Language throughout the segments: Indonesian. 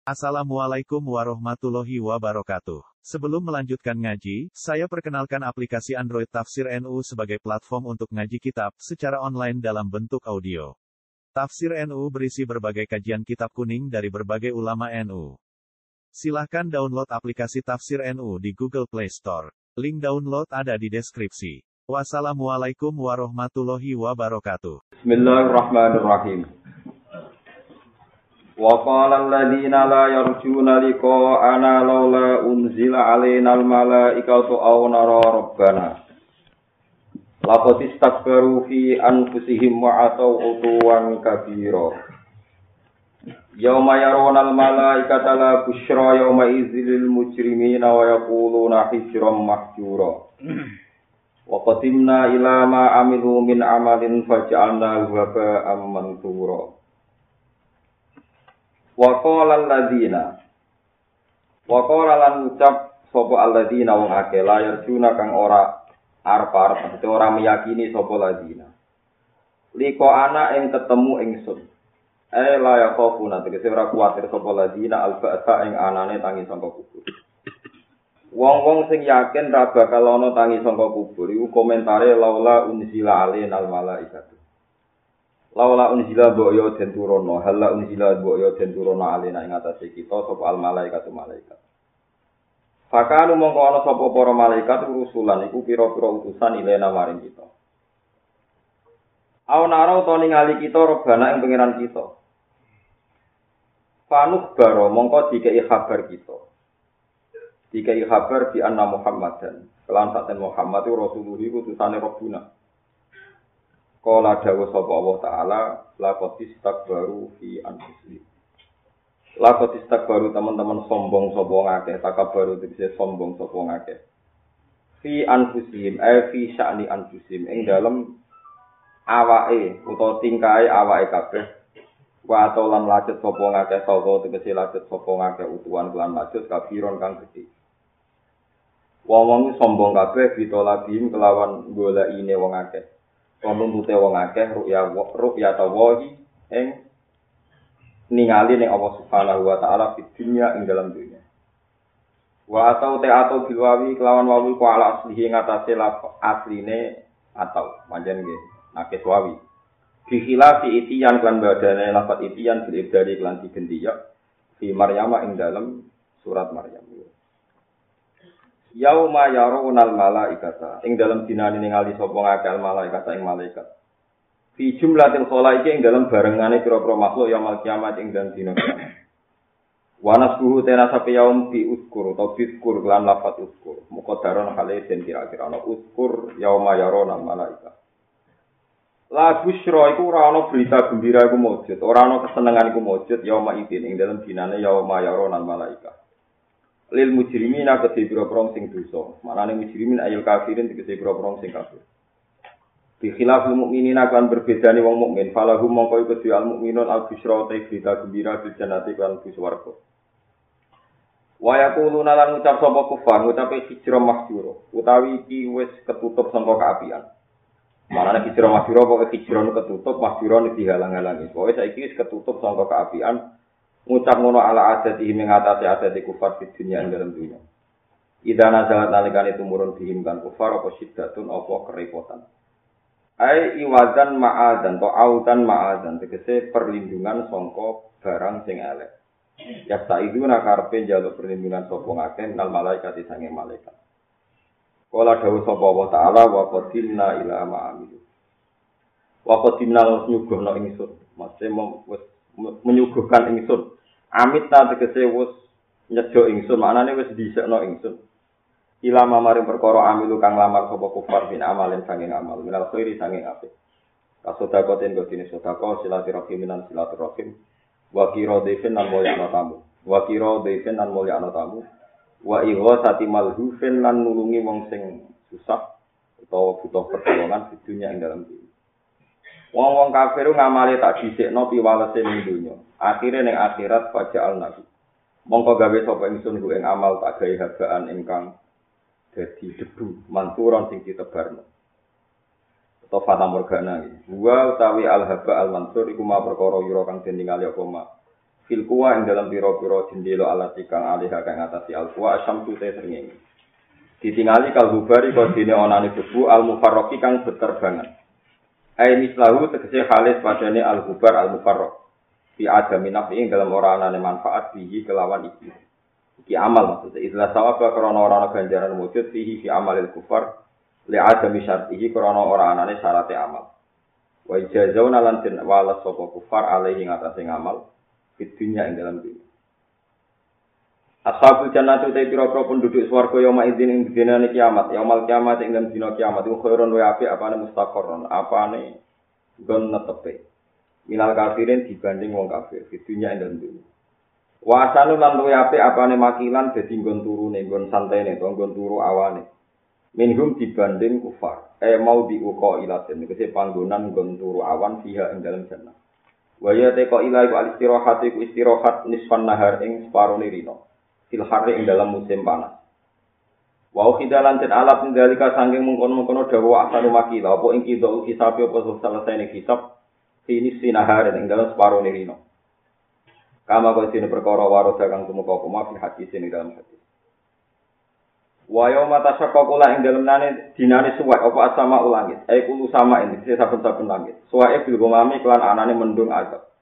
Assalamualaikum warahmatullahi wabarakatuh. Sebelum melanjutkan ngaji, saya perkenalkan aplikasi Android Tafsir NU sebagai platform untuk ngaji kitab secara online dalam bentuk audio. Tafsir NU berisi berbagai kajian kitab kuning dari berbagai ulama NU. Silahkan download aplikasi Tafsir NU di Google Play Store. Link download ada di deskripsi. Wassalamualaikum warahmatullahi wabarakatuh. Bismillahirrahmanirrahim. Wa qala alladziina laa yarjuuna liqaa'anaa laulaa unzila 'alainal malaa'ikatu aw naraa rabbana. Laqad istakbaru fi anfusihim wa 'ataw 'utuwan kabira. Yauma yarawna al-malaa'ikata la busyra yauma idzil mujrimiina wa yaquluuna hijran mahjura. Wa qadimna ila ma 'amilu min 'amalin faj'alnahu haba'an manthura. Wa qala alladziina lan ucap sapa alladziina wong akeh layar juna kang ora arep-arep ora meyakini sapa alladziina liko ana ing ketemu ingsun la yaqafuna tegese ora kuwatir sapa alladziina al-ba'sa ing anane tangi sangka kubur. Wong-wong sing yakin ra bakal ana tangi sangka kubur iku komentare laula unzila alainal malaikatu. Laula unzila bo'yo den turono, hala unzila bo'yo den turono alena ing atase kita sapa al malaikatu malaikat. Fakanu mongko ana sapa para malaikat rusulan iku pira-pira utusan ilena maring kita. Awnara utawa ningali kita robana ing pangeran kita. Fanuk baro mongko dikei kabar kita. Dikei kabar di anna Muhammadan. Kelan saten Muhammad itu Rasulullah utusane Rabbuna. Qala dawuh sapa Allah taala laqad istakbaru fi anfusihim. Laqad istakbaru teman-teman sombong sapa ngakeh, takabbaru tegese sombong sapa ngakeh. Fi anfusihim fi sya'ni anfusihim ing dalem awake utawa tingkahe awake kabeh. Wa atolan lajut sapa ngakeh sapa tegese lajut sapa ngakeh utuhan lan lajut kabiron kang gedhe. Wong-wong sombong kabeh ditolabim kelawan golekine wong akeh. Nuntute wong akeh ru'ya tawahi ing ningali ning Allah Subhanahu wa taala di dunya ing dalam dunya. Wa atau bilwawi kelawan wawi ku ala aslihi ngatasé asline atau manjen nggih nakes wawi. Bi khilafi itiyan lan badane lafat itiyan bil ibdali lan digendi ya fi Maryam ing dalam surat Maryam. Yauma yarawunal malaikata ing dalam dinane ningali sapa ngakeh malaikata ing malaikat. Fi jumlatil khalaiki ing dalam barengane pira-pira makhluk yaumul kiamat ing dalem dina kiamat. Wa nasbuhu tenasa yaum bi uskur utawa biskur lan lafat uskur. Muqaddaron hale den kira-kira ana uskur yauma yarawunal malaikata. La busyra iku ora ana berita gembira iku mujud, ora ana kesenengan iku mujud yauma idin ing dalam dinane yauma yarawunal malaikata. Lil mujrimina kedhe pira-pira sing dosa. Manane mujrimin ayil kafirin tegese pira-pira sing kafir. Bi khilafil mukminina kan berbedane wong mukmin, falahum mongko iku al mukminun al busyra ta berita gembira bil jannati kan bis warga. Wa yaquluna lan ucap sapa kufar, ngucape hijra mahjura, utawi iki wis ketutup sangka kaapian. Manane hijra mahjura pokoke hijra ketutup, mahjura dihalang-halangi. Pokoke saiki wis ketutup sangka kaapian. Ngucap ngono ala adati mengatasi adati kufar di dunia ing dalam dunia. Idana salat nalikane tumurun dihimkan kufar apa syiddatun apa kerepotan. Ai iwazan ma'adan to autan ma'adan tegese perlindungan sangka barang sing elek. Ya saiduna karepe njaluk perlindungan sapa ngakeh nal malaikat sange malaikat. Kala dawuh sapa Allah taala wa qadimna ila ma'amilu. Wa qadimna nyuguhna ingsun. Makse wis menyuguhkan ingsun. Amit ta tegese wis nyedhok ingsun, maknane wis dhisikno ingsun. Ilama maring perkara amilu kang lamar sapa kufar bin amalin sanging amal, minal khairi sanging apik. Kasodakoten godine sedekah silaturahim minan silaturahim. Wa qira defen lan mulyakno tamu. Wa qira defen lan mulyakno tamu. Wa ighasati malhufin lan nulungi wong sing susah utawa butuh pertolongan di dunia ing dalam dunia. Wong-wong kafir ngamale tak dhisikno piwalese ning donya. Akhire ning akhirat faja'al nabi. Mongko gawe sapa ingsun ku ing amal tak gawe habaan ingkang dadi debu manturon sing ditebarno. Atau fata morgana iki. Wa utawi al haba al mansur iku ma perkara yura kang den ningali apa ma. fil kuwa ing dalam pira-pira jendela alat kang alih kang ngatasi al kuwa asyamsu te srengenge ditingali kal hubari kok dene onane debu al mufarraqi kang beterbangan ai mislahu tegese khalis padane al hubar al mufarraq fi adami nafi ing dalam ora anane manfaat bihi kelawan iki amal maksudnya ikhlas sawab krana ora ana ganjaran wujud fihi fi amalil kufar li adami syartihi krana ora anane syarate amal wa ijazauna lan den walas sapa kufar alaihi ngatasi ngamal fitunya ing dalam dunia. Ashabul jannati te pira-pira penduduk swarga yauma idzin ing dinane kiamat, yaumal kiamat ing dalam dina kiamat iku khairun wa apik apane mustaqarron, apane nggon netepe. Minal kafirin dibanding wong kafir fitunya ing dalam dunia. Wa asanu lan luwe apik apane makilan dadi nggon turune, nggon santene, nggon turu awane. Minhum dibanding kufar. Mau diuqa ilatin, tegese panggonan nggon turu awan fiha ing dalam jannah. Wa ya teko ila iku al-istirahat iku istirahat nisfan nahar ing separone rino. Fil harri ing dalam musim panas. Wa khidalan ten alat ndalika saking mungkon-mungkon dawa asanu makila apa ing kidul hisab apa selesai hisab fini sinahar ing dalam separone rino. Kama kok sine perkara waroda kang tumeka apa fi hadis ing dalam hadis. Wa yauma tashaqqaqula ing dalem dinane suwek apa asama ulangit. Kulo sama ini saben-saben langit. Suweke bil gomami kelan anane mendung azab.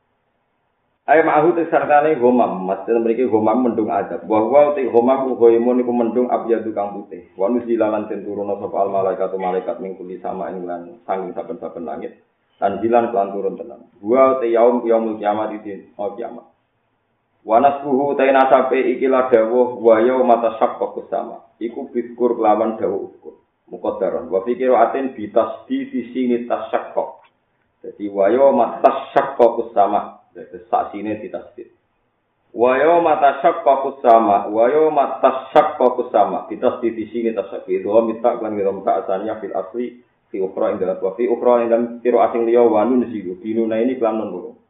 Ma'hu sartane gomam, maksud mriki gomam mendung azab. Wa te gomam goimun iku mendung abyadu kang putih. Wa nuzilalan ten turuna sapa al malaikatu malaikat ning kuli sama ing lan sanging saben-saben langit. Tanjilan kelan turun tenan. Wa te yaumul kiamat iki kiamat. Wanasbuhu taina sape ikilah dawuh wa yauma tashaqqaqus sama. Iku biskur kelawan dawuh uskur. Muqaddaron wa fikiru atin bitasdi di sini tashaqqaq. Jadi wa yauma tashaqqaqus sama. Jadi saksine ditasdid. Wa yauma tashaqqaqus sama, wa yauma tashaqqaqus sama. Bitasdi di sini tashaqqaq. Wa mitak lan ngiram ta'asanya fil asli fi ukhra inda wa fi ukhra inda tiru asing liya wa nun zidu. Dinuna ini kelam nun.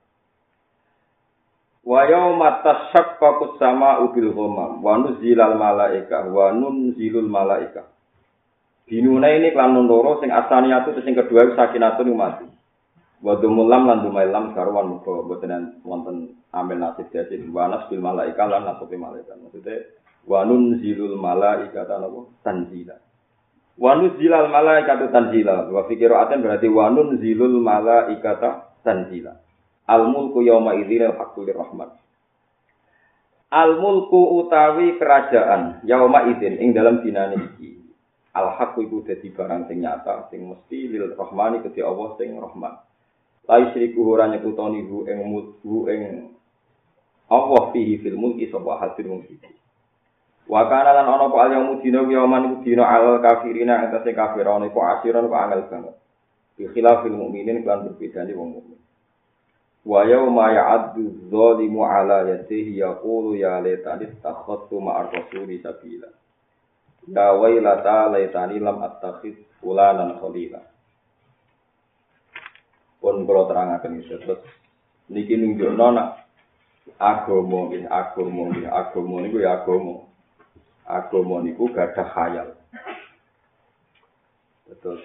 Wa yauma tashaqqaqus sama'u bil ghamam wa nuzilal malaika wa nunzilul malaika. Dinuna ini kelan loro sing asaniyatu sing kedua sakinatun mati. Wa dumulam lan dumailam sarwan muga boten wonten amel nasib dadi wanas bil malaika lan nasib malaikat. Maksude wa nunzilul malaika tanzila. Wa nuzilal malaikatu tanzila. Wa fi qira'atin berarti wa nunzilul malaikata tanzila. Al-mulku yauma idzin al-haqqul rahman. Al-mulku utawi kerajaan yauma idzin ing dalam dinane iki. Al-haqqu iku dadi barang sing nyata sing mesti lil rahmani kedhi Allah sing rahman. La yusyriku ora nyekutoni hu ing Allah fihi fil mulki sapa hadir mulki. Wa kana lan ana apa al-yaumu dina yauman iku dina al kafirina antase kafirane iku asiran kok angel banget. Bi khilafil mukminin kan berbedane wong mukmin. Wa yauma ya'addu dzalimu 'ala yadihi yaqulu ya laitani takhadtu ma'ar rasuli sabila. Ya wailata laitani lam attakhid fulanan khalila. Pun kula terangaken iki terus niki nunjukno nak agama niku ya agama. Agama niku gadah khayal. Terus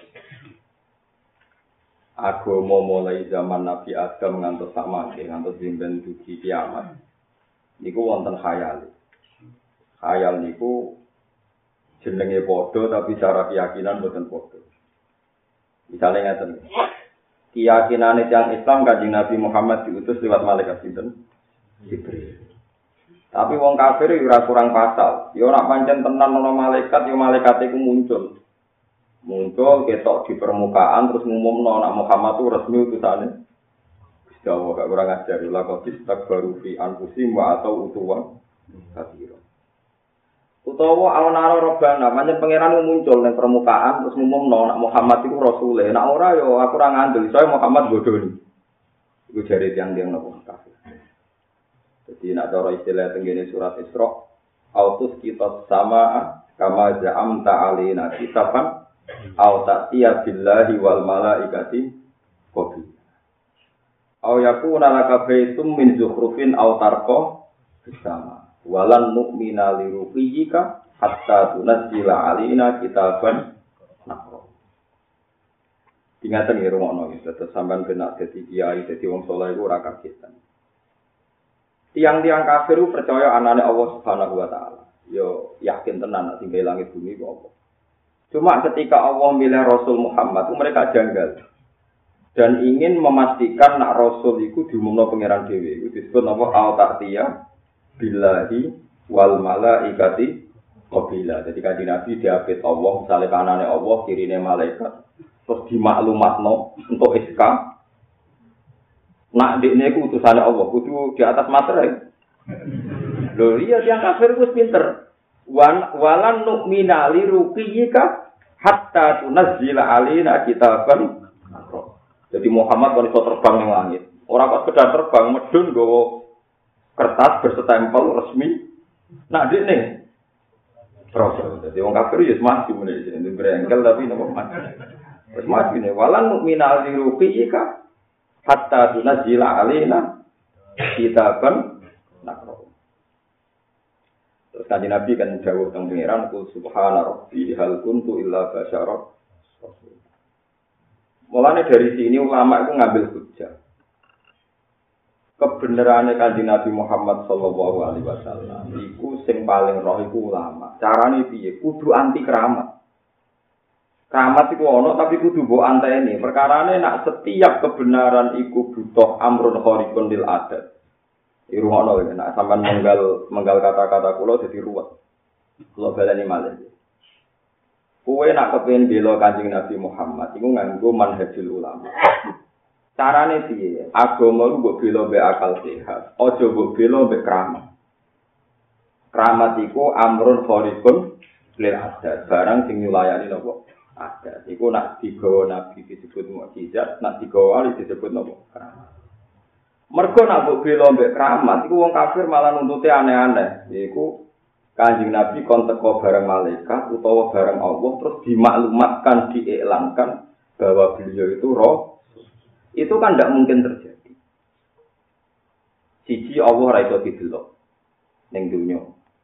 agama mulai zaman Nabi Adam ngantos samangke ngantos dinten dugi kiamat niku wonten khayal. Khayal niku jenenge padha tapi cara keyakinan boten padha. Misale ngaten. Keyakinane tiyang Islam Kanjeng Nabi Muhammad diutus lewat malaikat sinten? Jibril. Tapi wong kafir ora kurang pasal. Ya ora pancen tenan ana malaikat, ya malaikat iku muncul. Muncul ketok di permukaan terus ngumumno nek Muhammad itu resmi utusane. Gusti Allah gak kurang ajar lha kok istakbaru fi anfusihim wa atau utuwa kabira. Utawa awana robbana pancen pangeran muncul ning permukaan terus ngumumno nek Muhammad itu rasule. Nek ora yo aku ora ngandel saya Muhammad bodoni. Iku jare tiyang-tiyang napa kafir. Jadi nek cara istilah tengene surat Isra autus kita sama kama ja'amta alaina kitaban au ta'tiya billahi wal malaikati qabil. Au yakuna laka baitum min zukhrufin au tarqa bisama. Walan nu'mina li ruqiyika hatta tunazzila alaina kitaban nakra. Ingatan nggih rumono iki terus sampean kena dadi kiai dadi wong saleh iku ora kagetan. tiang-tiang kafir percaya anane Allah Subhanahu wa taala. Yo yakin tenan nek tinggal langit bumi kok. Cuma ketika Allah milih Rasul Muhammad, mereka janggal dan ingin memastikan nak Rasul itu diumumno pangeran dhewe. Itu disebut apa? Al-Ta'tiyah billahi wal malaikati qabila. Jadi kanjeng Nabi diapit Allah, misalnya kanane Allah, kirine malaikat, terus dimaklumatno untuk SK. Nak dekne iku utusane Allah, kudu di atas materai. Lho iya tiyang kafir wis pinter. Walan nu'mina li ruqiyika hatta tunazzila alaina kitaban. Jadi Muhammad kan iso terbang ning langit. Ora kok sekedar terbang medun nggawa kertas berstempel resmi. Nak dekne Rasul. Jadi wong kafir ya mati meneh jenenge brengkel tapi napa mati. Wis mati ne walan nu'mina li ruqiyika hatta tunazila alaina kitaban nakro. Terus kanjeng Nabi kan dawuh teng pangeran kul subhana rabbi hal kuntu illa basyara. Mulane dari sini ulama itu ngambil hujjah. Kebenarannya kanjeng Nabi Muhammad sallallahu alaihi wasallam iku sing paling roh iku ulama. Carane piye? Kudu anti keramat. Keramat itu ono tapi kudu mbok anteni. Perkarane nak setiap kebenaran iku butuh amrun khariqun lil adat. Irungono nek sampean menggal kata-kata kula dadi ruwet. Kula baleni malih. Kowe nak kepengin bela Kanjeng Nabi Muhammad iku nganggo manhajul ulama. Carane piye? Agama lu mbok bela mbek akal sehat. Aja mbok bela mbek keramat. Keramat iku amrun khariqun lil adat. Barang sing nyulayani napa? Ada. Iku nak digawa Nabi disebut mukjizat, nak digawa wali disebut nopo? Keramat. Mergo nak mbok bela mbek keramat, iku wong kafir malah nuntute aneh-aneh. Yaiku Kanjeng Nabi kon teko bareng malaikat utawa bareng Allah terus dimaklumatkan, diiklankan bahwa beliau itu roh. Itu kan tidak mungkin terjadi. Siji Allah ra iso didelok ning dunya.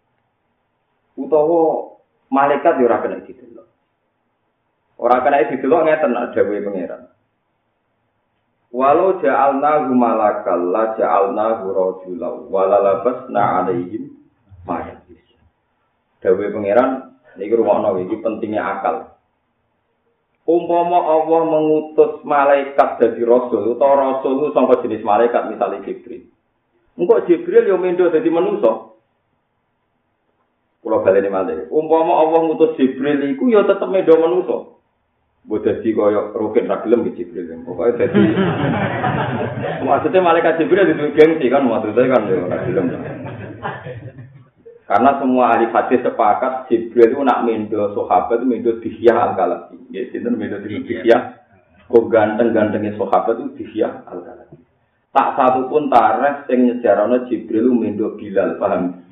Utawa malaikat yo ora kena didelok. Ora kena didelok ngeten nak dawuhe pangeran. Walau ja'alnahu malakal la ja'alnahu rajulan wala labasna 'alaihim ma yalbis. Dawuhe pangeran niki rumakno iki pentingnya akal. Umpama Allah mengutus malaikat dadi rasul utawa rasul itu sangka jenis malaikat misalnya Jibril. Engko Jibril yo mendo dadi manusa. Kula baleni malih. Umpama Allah ngutus Jibril iku yo tetep mendo manusa. Mbok dadi kaya roket ra gelem iki Jibril. Pokoke dadi maksudnya malaikat Jibril itu gengsi kan maksudnya kan yo ra gelem. Karena semua ahli hadis sepakat Jibril itu nak mendo sahabat itu mendo Dihyah al-Kalabi. Nggih, sinten mendo Dihyah. Kok ganteng-gantenge sahabat itu Dihyah al-Kalabi. Tak satu pun tarikh sing nyejarane Jibril mendo Bilal, paham?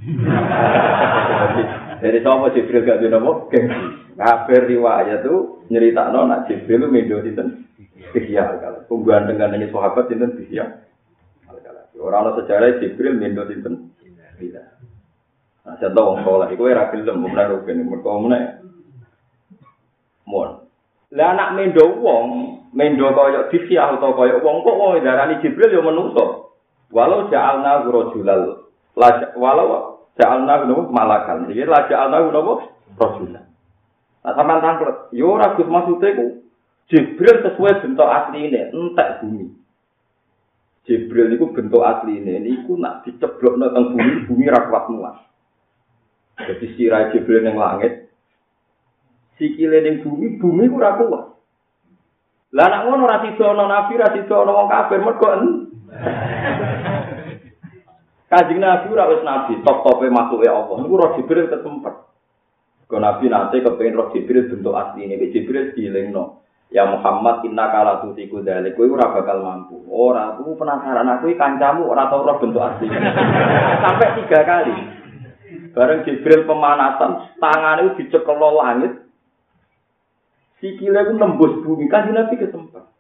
Dari sapa Jibril gak dene apa? Gengsi. Kabeh riwayat itu nyeritakno nak Jibril mendo sinten? Dihyah al-Kalabi. Kok ganteng-gantenge sahabat sinten Dihyah al-Kalabi. Ora ana sejarah Jibril mendo sinten? Bilal. Nah, contoh wong saleh iku ora gelem mulai rugen mergo meneh. Mon. Lah anak mendo wong, mendo kaya Dihyah utawa kaya wong kok wong darani Jibril ya menungso. Walau ja'alna rajulal. Walau ja'alna malakan. Iki la ja'alna rajulan. Nah, sampean tanglet, yo ora Gus maksude ku Jibril sesuai bentuk asline, entek bumi. Jibril niku bentuk asline niku nak diceblokno teng bumi, bumi ra kuat muat. Jadi sirah Jibril yang langit, sikile ning bumi, bumi ora kuat. Lah nek ngono ora sidono nabi, ora sidono wong kafir mergo Kanjeng Nabi ora wis nabi, top-tope makhluke Allah. Niku roh Jibril kesempet. Kok nabi nate kepengin roh Jibril bentuk asline, Jibril dielingno. Ya Muhammad innaka la tutiku dzalik, kowe ora bakal mampu. Ora, aku penasaran aku kancamu ora tau roh bentuk asline. Sampai 3 kali. Bareng Jibril pemanasan, tangannya dicekel langit, sikilnya itu nembus bumi, kan Nabi kesempatan.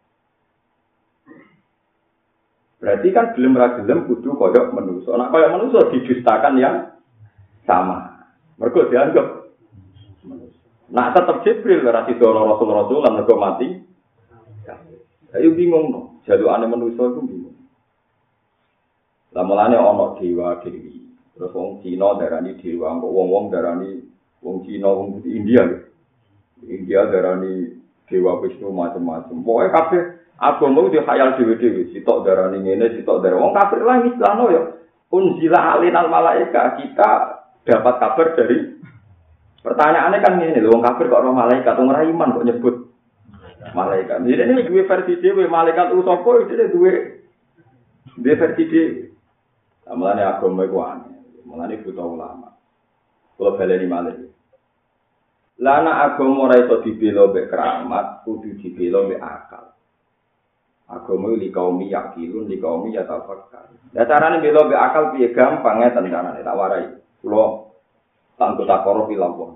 Berarti kan gelem-gelem kudu koyok manusia. Nah koyok manusia didustakan yang sama. Mereka dianggap manusia. Nah tetap Jibril, berarti dono Rasul-Rasul, dan mereka mati. Ayo bingung, no. Jaduannya manusia itu bingung. Lah mulane ana dewa dewi. Terus wong Cina darani dewa, wong darani wong Cina, wong India. India darani dewa Wisnu macam-macam. Pokoke kabeh agama itu khayal dhewe-dhewe. Sitok darani ngene, sitok darani wong kafir lah istilahno ya. Unzila alinal malaika, kita dapat kabar dari pertanyaannya kan ngene lho, wong kafir kok ora malaikat, wong ora iman kok nyebut malaikat. Jadi ini duwe versi dhewe, malaikat ku sapa iki duwe versi dhewe. Mulane agama iku aneh. Mulane buta ulama. Kula baleni malih. Lah ana agama ora iso dibela mek keramat, kudu dibela mek akal. Agama li kaum yakilun, li kaum yatafakkar. Lah carane bela mek akal piye gampang ngeten carane tak warai. Kula tanggo takoro pilawon.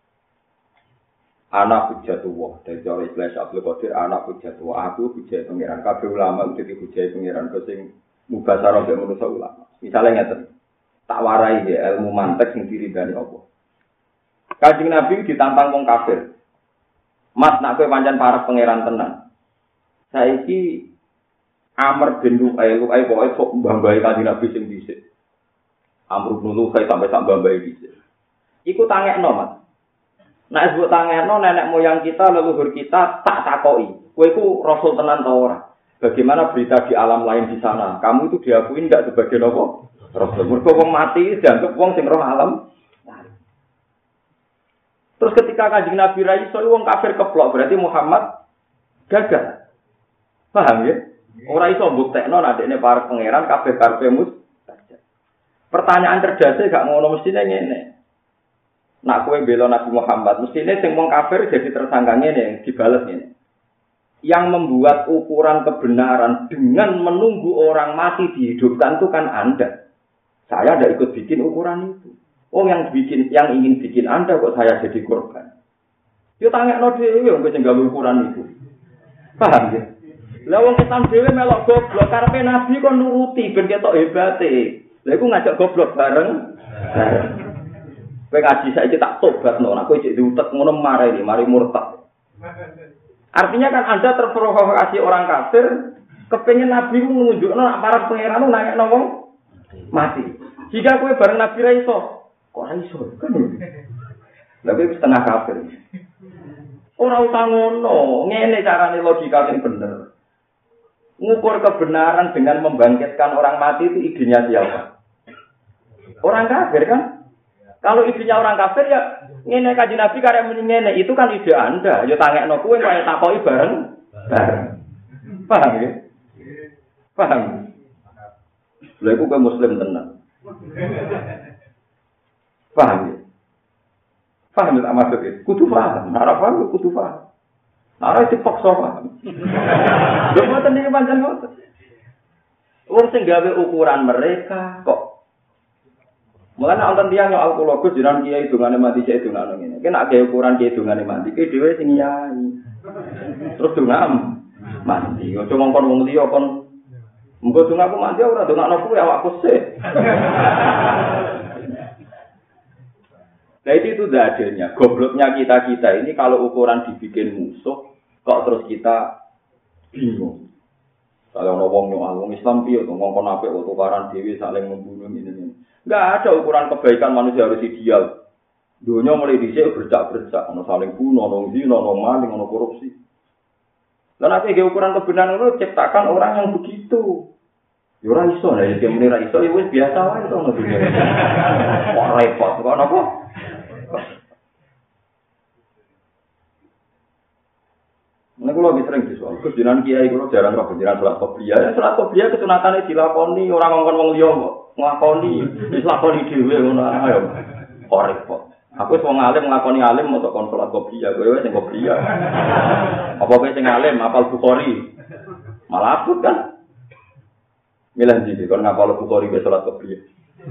Anak hujatullah dari cara istilah Abdul Qadir, anak hujatullah. Aku hujat pengiran. Kabeh ulama udah dihujai pengiran sing mubasarah mek manusa ulama. Misalnya ngeten. Tak warai ya ilmu mantek sing diridani Allah. Kanjeng Nabi ditantang wong kafir. Mas nak kowe pancen parek pangeran tenan. Saiki Amr bin Lu'ay pokoke sok mbambahi Kanjeng Nabi sing dhisik. Amr bin Lu'ay sampai sak mbambahi dhisik. Iku tangekno, Mas. Nek sebut tangekno nenek moyang kita, leluhur kita tak takoki. Kowe iku rasul tenan ta ora? Bagaimana berita di alam lain di sana? Kamu itu diakui enggak sebagai apa? Rasul. Mergo wong mati dianggap wong sing roh alam. Terus ketika Kanjeng Nabi ra iso wong kafir keplok, berarti Muhammad gagal. Paham ya? Ora iso mbuktekno nek dekne para pangeran kabeh karepe mustajab. Pertanyaan cerdasé gak ngono mestine ngene. Nak kowe bela Nabi Muhammad, mestine sing wong kafir jadi tersangka ngene, dibales ngene. Yang membuat ukuran kebenaran dengan menunggu orang mati dihidupkan itu kan Anda. Saya tidak ikut bikin ukuran itu. Oh yang ingin bikin Anda kok saya jadi korban. Yo tangekno dhewe wong sing gawe ukuran itu. Paham ya? Lah wong Islam dhewe melok goblok karepe Nabi kok nuruti ben ketok hebate. Lah iku ngajak goblok bareng. Kowe ngaji saiki tak tobatno, nek kowe cek diutek ngono mari murtad. Artinya kan Anda terprovokasi orang kafir, kepengen Nabi menunjukno para pangeran nangekno wong mati. Jika kowe bareng Nabi ra iso, kok ra iso kan? Lah kowe setengah kafir. Ora usah ngono, ngene carane logika sing bener. Ngukur kebenaran dengan membangkitkan orang mati itu idenya siapa? Orang kafir kan? Kalau idenya orang kafir ya ngene Kanjeng Nabi karek muni ngene, itu kan ide Anda. Ya tangekno kowe kaya takoki bareng. Paham ya? Paham. Lha iku kowe muslim tenan. Paham ya? Paham tak maksud itu? Kudu paham. Ora paham kudu paham. Ora dipaksa paham. Lha mboten iki pancen ngoten. Wong sing gawe ukuran mereka kok mulane wonten tiyang yo alkologus jiran kiai dongane mati cek dongane ngene. Ki nek gawe ukuran kiai dongane mati ki dhewe sing yai. Terus dongam mati. Ojo ngongkon wong liya kon muga dongaku mati ora dongakno kuwi awakku sik. Nah itu adanya. Gobloknya kita ini kalau ukuran dibikin musuh kok terus kita bingung. Kalau ngomong wong Islam piye to ngongkon apik tukaran dhewe saling membunuh ini. Enggak ada ukuran kebaikan manusia harus ideal. Dunia mulai dhisik bercak-bercak, ono saling bunuh, ono zina, ono maling, ono korupsi. Lah nek ukuran kebenaran itu ciptakan orang yang begitu. Ya ora iso, nek iki muni ora iso ya wis biasa wae to ngono dunia. Kok repot kok napa? Nek kula wis sering disuwun, kejenan kiai kula jarang kok kejenan salat qobliyah. Ya salat qobliyah kesunatane dilakoni ora ngongkon wong liya kok. Nglakoni, wis lakoni dhewe ngono ae. Kok repot. Aku wis wong alim nglakoni alim moto kon salat qobliyah, kowe wis sing qobliyah. Apa kowe sing alim hafal Bukhari? Malah abot kan. Milih ndi kon ngapal Bukhari wis salat qobliyah.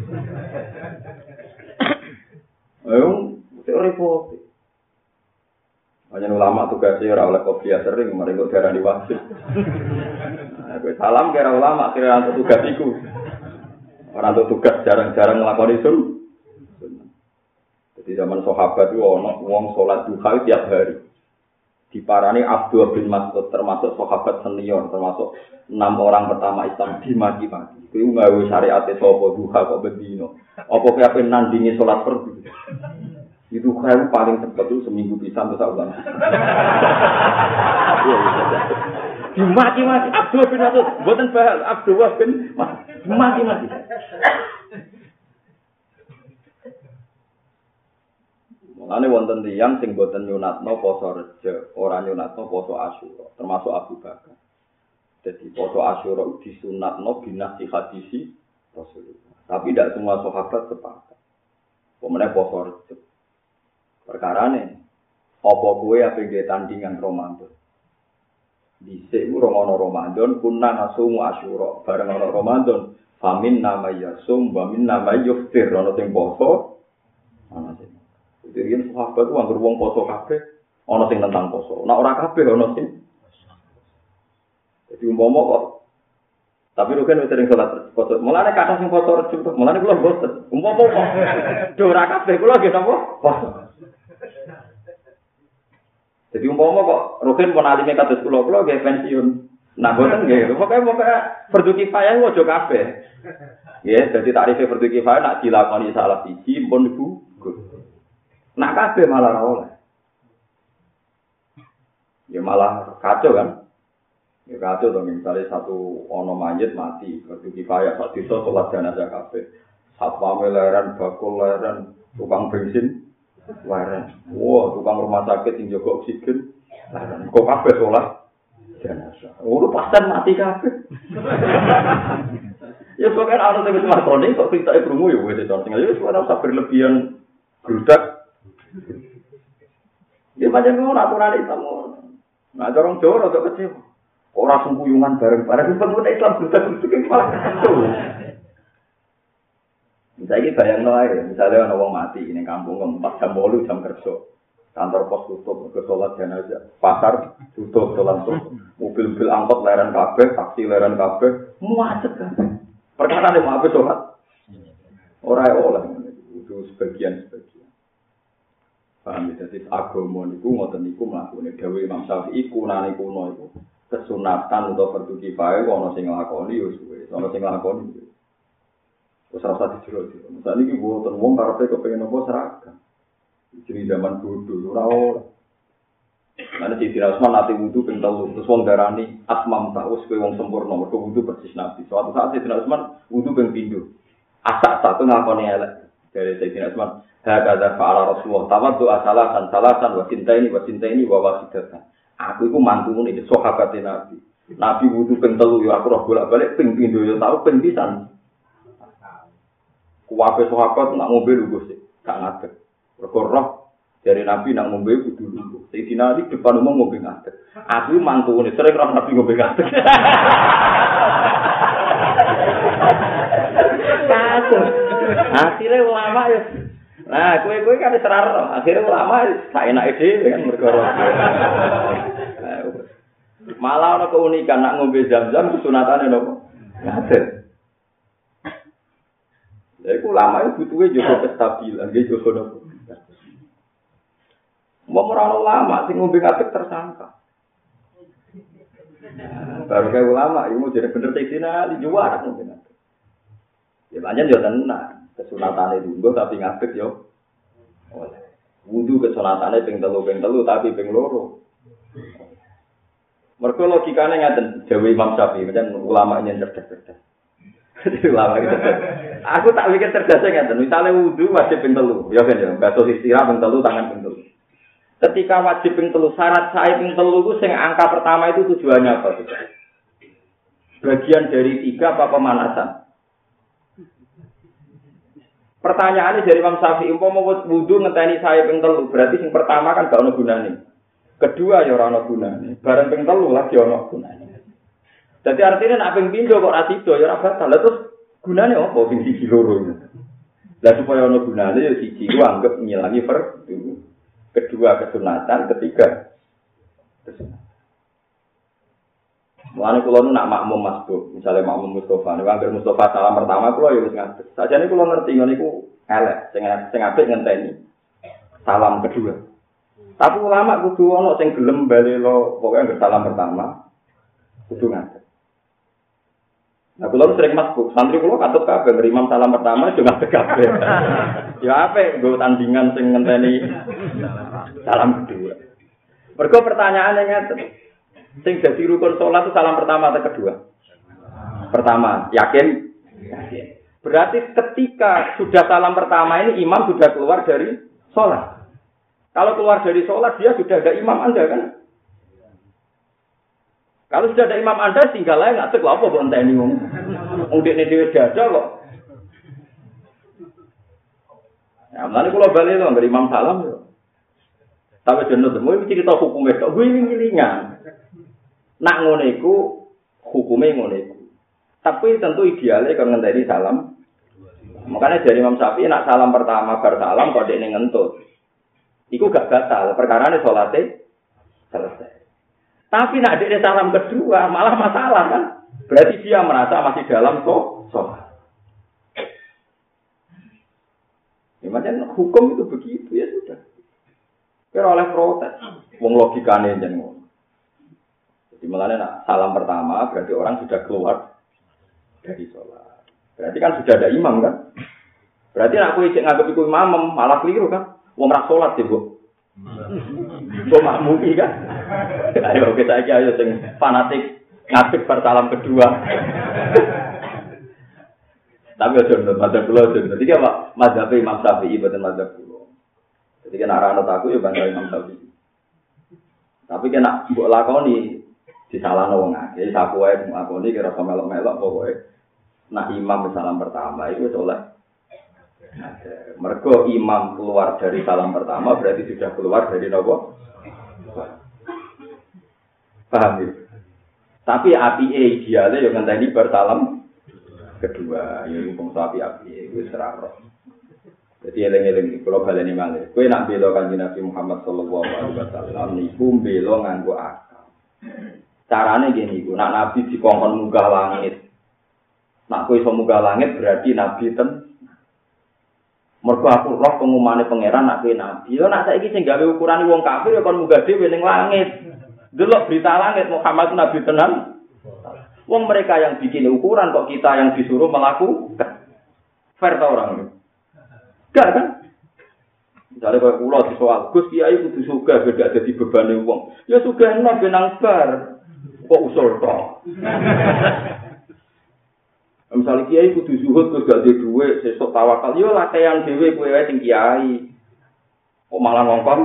Ayo, repot. Banyak ulama tugasnya ora oleh qobliyah sering, mari kok darani wajib. Kowe salam kira ulama kira untuk tugas iku. Orang untuk tugas jarang-jarang nglakoni sun. Jadi zaman sahabat itu ono wong salat duha tiap hari. Diparani Abdullah bin Mas'ud termasuk sahabat senior, termasuk 6 orang pertama Islam dimaki-maki. Kuwi nggawe syariate sapa duha kok bendino. Apa kowe ape nandingi salat fardu? Itu kan paling cepat itu seminggu pisan terus ulang. Dimaki-maki Abdullah bin Mas'ud, mboten bahal Abdullah bin dimaki-maki. Mulane wonten tiyang sing boten nyunatno poso Rejo, ora nyunatno poso Asyura, termasuk Abu Bakar. Jadi poso Asyura disunatno binasi hadisi Rasulullah. Tapi tidak semua sahabat sepakat. Pemene poso Rejo. Perkarane apa kowe ape nggih tandingan Ramadan. Dhisik ora ana Ramadan, kunna nasumu Asyura, bareng ana Ramadan, famin nama yasum, wa min nama yuftir, ana sing poso, ana sing jadi sahabat itu anggur wong poso kabeh, ana sing tentang poso. Nek ora kabeh ana sing. Jadi umpama kok. Tapi lu kan sering salat poso. Mulane kata sing poso rejim, mulane kula boten. Umpama kok do ora kabeh kula nggih napa? Poso. Jadi umpama kok Rukin pun alime kados kula nggih pensiun. Nah boten nggih. Pokoke fardu kifayah aja kabeh. Nggih, dadi tarife fardu kifayah nak dilakoni salah siji pun gugur. Nak kabeh malah ora oleh. Ya malah kacau kan. Ya kacau to misalnya satu ono mayit mati, fardu kifayah sak desa salat jenazah kabeh. Satpam leren, bakul leren, tukang bensin leren. Wah, tukang rumah sakit sing jaga oksigen leren. Kok kabeh salat jenazah. Ora pasten mati kabeh. Ya pokoke ana sing wis makoni kok pitake krungu ya wis contoh. Ya wis ora usah berlebihan grudak. Ya macam ngono aturan Islam. Nah, orang Jawa rada kecewa. Ora sengkuyungan bareng-bareng penting Islam grudak-grudak iki malah kacau. Saiki bayangno ae, misale ana wong mati ning kampung 4 jam 8 jam kerja. Kantor pos tutup, ke salat jenazah, pasar tutup, salat tutup. Mobil-mobil angkot leren kabeh, taksi leren kabeh, muacet kabeh. Perkara nek mau salat. Ora oleh itu sebagian-sebagian. Paham ya, jadi agama niku ngoten niku mlakune dawuh Imam Syafi'i kunane kuno iku kesunatan utawa fardu kifayah ana sing nglakoni ya suwe, ana sing nglakoni. Wis rasa dijero-jero. Misale iki mboten wong karepe kepengin apa seragam. Jadi zaman bodoh ora ora. Ana Sayyidina Utsman nate wudu ping 3 terus wong darani atmam ta wis kowe wong sempurna mergo wudu persis Nabi. Suatu saat Sayyidina Utsman wudu ping 3. Asak satu ngakoni elek. Dari Sayyidina Utsman hakadha fa'ala Rasulullah tawaddu salasan wa sintaini wa wasidatan. Aku iku mantumu iki sahabat Nabi. Nabi wudu ping 3 ya aku roh bolak-balik ping 7 ya tau ping pisan. Kuwabe sahabat nak ngombe lho Gusti, gak ngadeg. Mergo roh dari Nabi nak ngombe kudu lho. Sayyidina Ali depan umum ngombe ngadeg. Aku mantune sering roh Nabi ngombe ngadeg. Kasus. Akhirnya ulama ya. Nah, kowe kan seraro. Akhirnya ulama sak enake dhewe kan mergo. Malah ana keunikan nak ngombe Zam-Zam sunatane nopo? Ngadeg. Lha iku ulama itu butuhe jaga kestabilan, nggih jaga nopo. Mau ora ulama sing ngombe ngadeg tersangka. Baru kayak ulama, ilmu jadi bener Sayyidina Ali juara ngombe ngadeg. Ya pancen yo tenan. Kesunatane lungguh tapi ngadeg yo oleh. Wudu kesunatane ping 3 tapi ping 2. Mergo logikane ngaten, dawuh Imam Syafi'i, pancen ulama yen cerdas-cerdas. Ulama gitu. Aku tak pikir cerdasnya ngaten, misale wudu wajib ping 3, ya kan ya, basuh istirahat ping 3, tangan ping 3. Ketika wajib ping 3, syarat sae ping 3 itu sing angka pertama itu tujuannya apa tuh? Bagian dari 3 apa pemanasan? Pertanyaannya dari Imam Syafi'i, umpama wudu ngenteni sae ping 3, berarti sing pertama kan gak ono gunane. Kedua ya ora ono gunane. Bareng ping 3 lagi ono gunane. Dadi artine nek ping 3 kok ora sida ya ora batal. Lah terus gunane apa ping 1 loro iki? Lah supaya ono gunane ya siji ku anggap ngilangi fardu. Kedua kesunatan, ketiga kesunatan. Mulane kula nu nak makmum masbuk, misale makmum Mustofa, nek anggere Mustofa salam pertama kula ya wis ngadeg. Sajane kula ngerti ngene iku elek, sing apik ngenteni salam kedua. Tapi ulama kudu ana sing gelem balelo, pokoknya salam pertama kudu ngadeg. Nah, kula sering masbuk, santri kula katut kabeh imam salam pertama yo ngadeg kabeh. Ya apik nggo tandingan sing ngenteni salam kedua. Mergo pertanyaane ngeten. Sing dadi rukun salat itu salam pertama atau kedua? Pertama, yakin? Yakin. Berarti ketika sudah salam pertama ini imam sudah keluar dari salat. Kalau keluar dari sholat, dia sudah ada imam Anda, kan? Kalau sudah ada imam Anda, tinggal aja nggak cek apa buat entah ini. Ungdik ini dia dada kok. Ya, nanti kalau balik loh, nggak imam salam loh. Tapi jenuh semua ini cerita hukumnya, kok gue ini ngilingan. Nak ngoneku, hukumnya ngoneku. Tapi tentu idealnya kalau ngenteni salam. Makanya dari Imam Syafi'i nak salam pertama bersalam kok dia ngentut. Iku gak batal, perkara ini sholatnya selesai. Tapi nak ada salam kedua, malah masalah kan? Berarti dia merasa masih dalam sholat. Ya, macam hukum itu begitu, ya sudah. Kira oleh protes, wong logikanya jeneng. Jadi malah nak salam pertama, berarti orang sudah keluar dari sholat. Berarti kan sudah ada imam kan? Berarti nak aku ijek nganggep iku imam, malah keliru kan? Wong ra salat ya, Bu. Kok makmumi kan? Ayo kita aja sing fanatik ngadeg bersalam kedua. Tapi aja nurut madzhab kula aja. Dadi apa? Madzhab Imam Syafi'i boten madzhab kula. Jadi kan arah anut aku ya bangga Imam Syafi'i. Tapi kena mbok lakoni disalahno wong akeh. Saku wae ngakoni kira melok-melok pokoke. Nah imam salam pertama itu oleh mergo imam keluar dari salam pertama berarti sudah keluar dari nopo? Paham ya? Tapi api idealnya yang ngenteni bersalam kedua, ya wong sapi api wis ora ro. Jadi eling-eling kula baleni malih. Kowe nak bela Kanjeng Nabi Muhammad sallallahu alaihi wasallam niku bela nganggo akal. Carane ngene iku, nak nabi dikongkon munggah langit. Nak kowe iso munggah langit berarti nabi ten. Mergo aku roh pengumane pangeran nak kowe nabi. Yo nak saiki sing gawe ukurane wong kafir ya kon munggah dhewe ning langit. Delok berita langit Muhammad nabi tenan. Wong mereka yang bikin ukuran kok kita yang disuruh melakukan. Fair ta orang ini? Enggak kan? Misalnya kalau pulau di soal, Gus Kiai kudu sugih beda jadi beban wong. Ya sugih enak benang bar. Kok usul toh? Misalnya Kiai kudu zuhud Gus gak ada duit, sesuk tawakal. Yo latihan dhewe kowe wae sing Kiai. Kok malah ngongkon?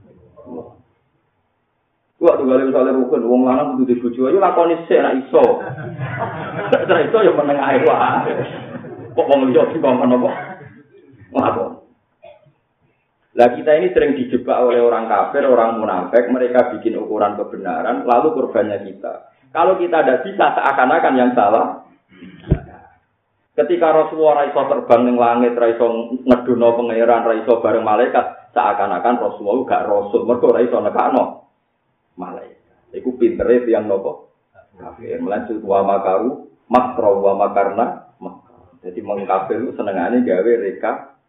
Waktu kali misalnya rukun, wong lanang kudu dibojo, yo lakoni sik nek iso. Nek iso yo meneng ae wae. Kok wong liya dikongkon apa? Ngapun. Lah kita ini sering dijebak oleh orang kafir, orang munafik, mereka bikin ukuran kebenaran, lalu korbannya kita. Kalau kita tidak bisa, seakan-akan yang salah. Ketika Rasulullah raiso terbang ning langit, raiso ngedono pangeran, raiso bareng malaikat, seakan-akan Rasulullah gak rasul, mergo raiso nekano malaikat. Iku pintere tiyang napa? Kafir. Melanjut wa makaru, makra wa makarna. Jadi mengkafir itu senengane gawe reka.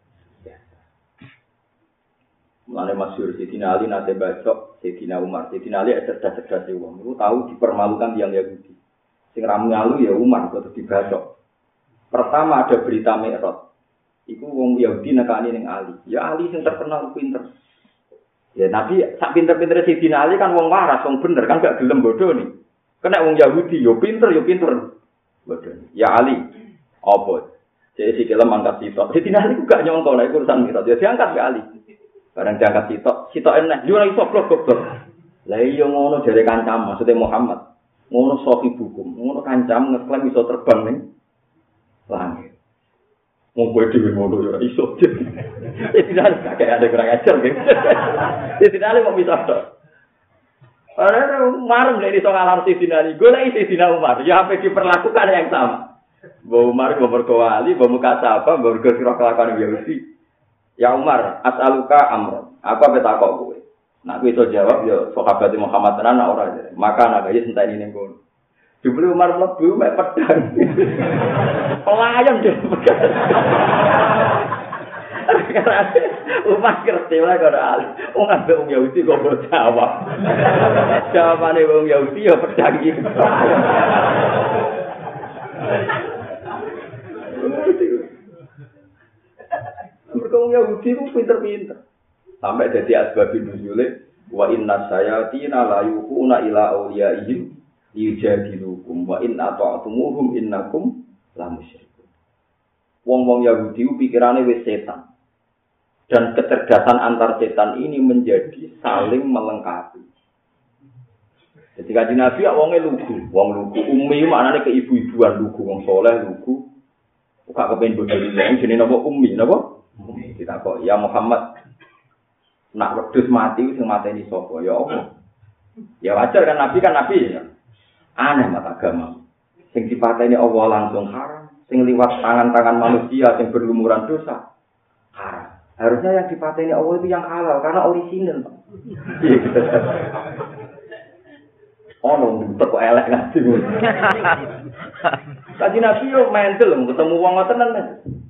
Mulane masyhur Sayyidina Ali nate bacok Sayyidina Umar. Sayyidina Ali cerdas-cerdas wong. Niku tahu dipermalukan tiyang Yahudi. Sing ra ngalu ya Umar kok dibacok. Pertama ada berita Mi'raj. Iku wong Yahudi nekani ning Ali. Ya Ali sing terkenal pinter. Ya Nabi sak pinter-pintere Sayyidina Ali kan wong waras, wong bener kan gak gelem bodoh nih. Kena wong Yahudi yo pinter. Bodoh. Ya Ali, apa? Jadi si kelem angkat sitok. Sayyidina Ali ku gak nyongko nek urusan Mi'raj. Ya diangkat ke Ali. Barang diangkat sitok enak. Yo ora iso goblok. Lah iya ngono jare kancam, maksudnya Muhammad. Ngono sofi bukum, ngono kancam ngeklaim iso terbang ning langit. Mau kowe dhewe ngono yo ora iso. Tidak ada kurang ajar gitu. Tidak ada kok bisa tok. Ora marem nek iso ngalar Sayyidina Ali, golek Sayyidina Umar, ya apa diperlakukan yang sama. Mbok Umar mbok berkowali, mbok muka sapa, mbok kira kelakuan Yahudi. Ya Umar, as'aluka amron. Apa petakok kowe? Nak kowe iso jawab ya sahabat Muhammad tenan ora. Maka nak ya senteni ning kono. Jebule Umar mlebu mek pedang. Pelayan deh. Umat ngerti ora karo alim. Wong ambek wong Yahudi kok mbok jawab. Jawabane wong Yahudi ya pedang iki. Mergo wong Yahudi ku pinter-pinter. Sampai jadi asbabun nuzule wa inna sayatina la yuquna ila awliyaihim yujadilukum wa in ata'tumuhum innakum la musyrikun. Wong-wong Yahudi pikirane wis setan. Dan kecerdasan antar setan ini menjadi saling melengkapi. Jadi kanjeng Nabi wonge lugu, wong lugu ummi maknane keibu-ibuan lugu, wong saleh lugu. Kok kepen bodho wong jenenge napa ummi napa? Kita kok ya Muhammad nak wedhus mati sing mateni sapa ya apa? Ya wajar kan nabi ya. Aneh mata agama. Sing dipateni Allah langsung haram, sing liwat tangan-tangan manusia sing berlumuran dosa haram. Harusnya yang dipateni Allah itu yang halal karena orisinal. Ono kok elek ngaji. Kanjeng Nabi yo mental ketemu wong ngoten tenan.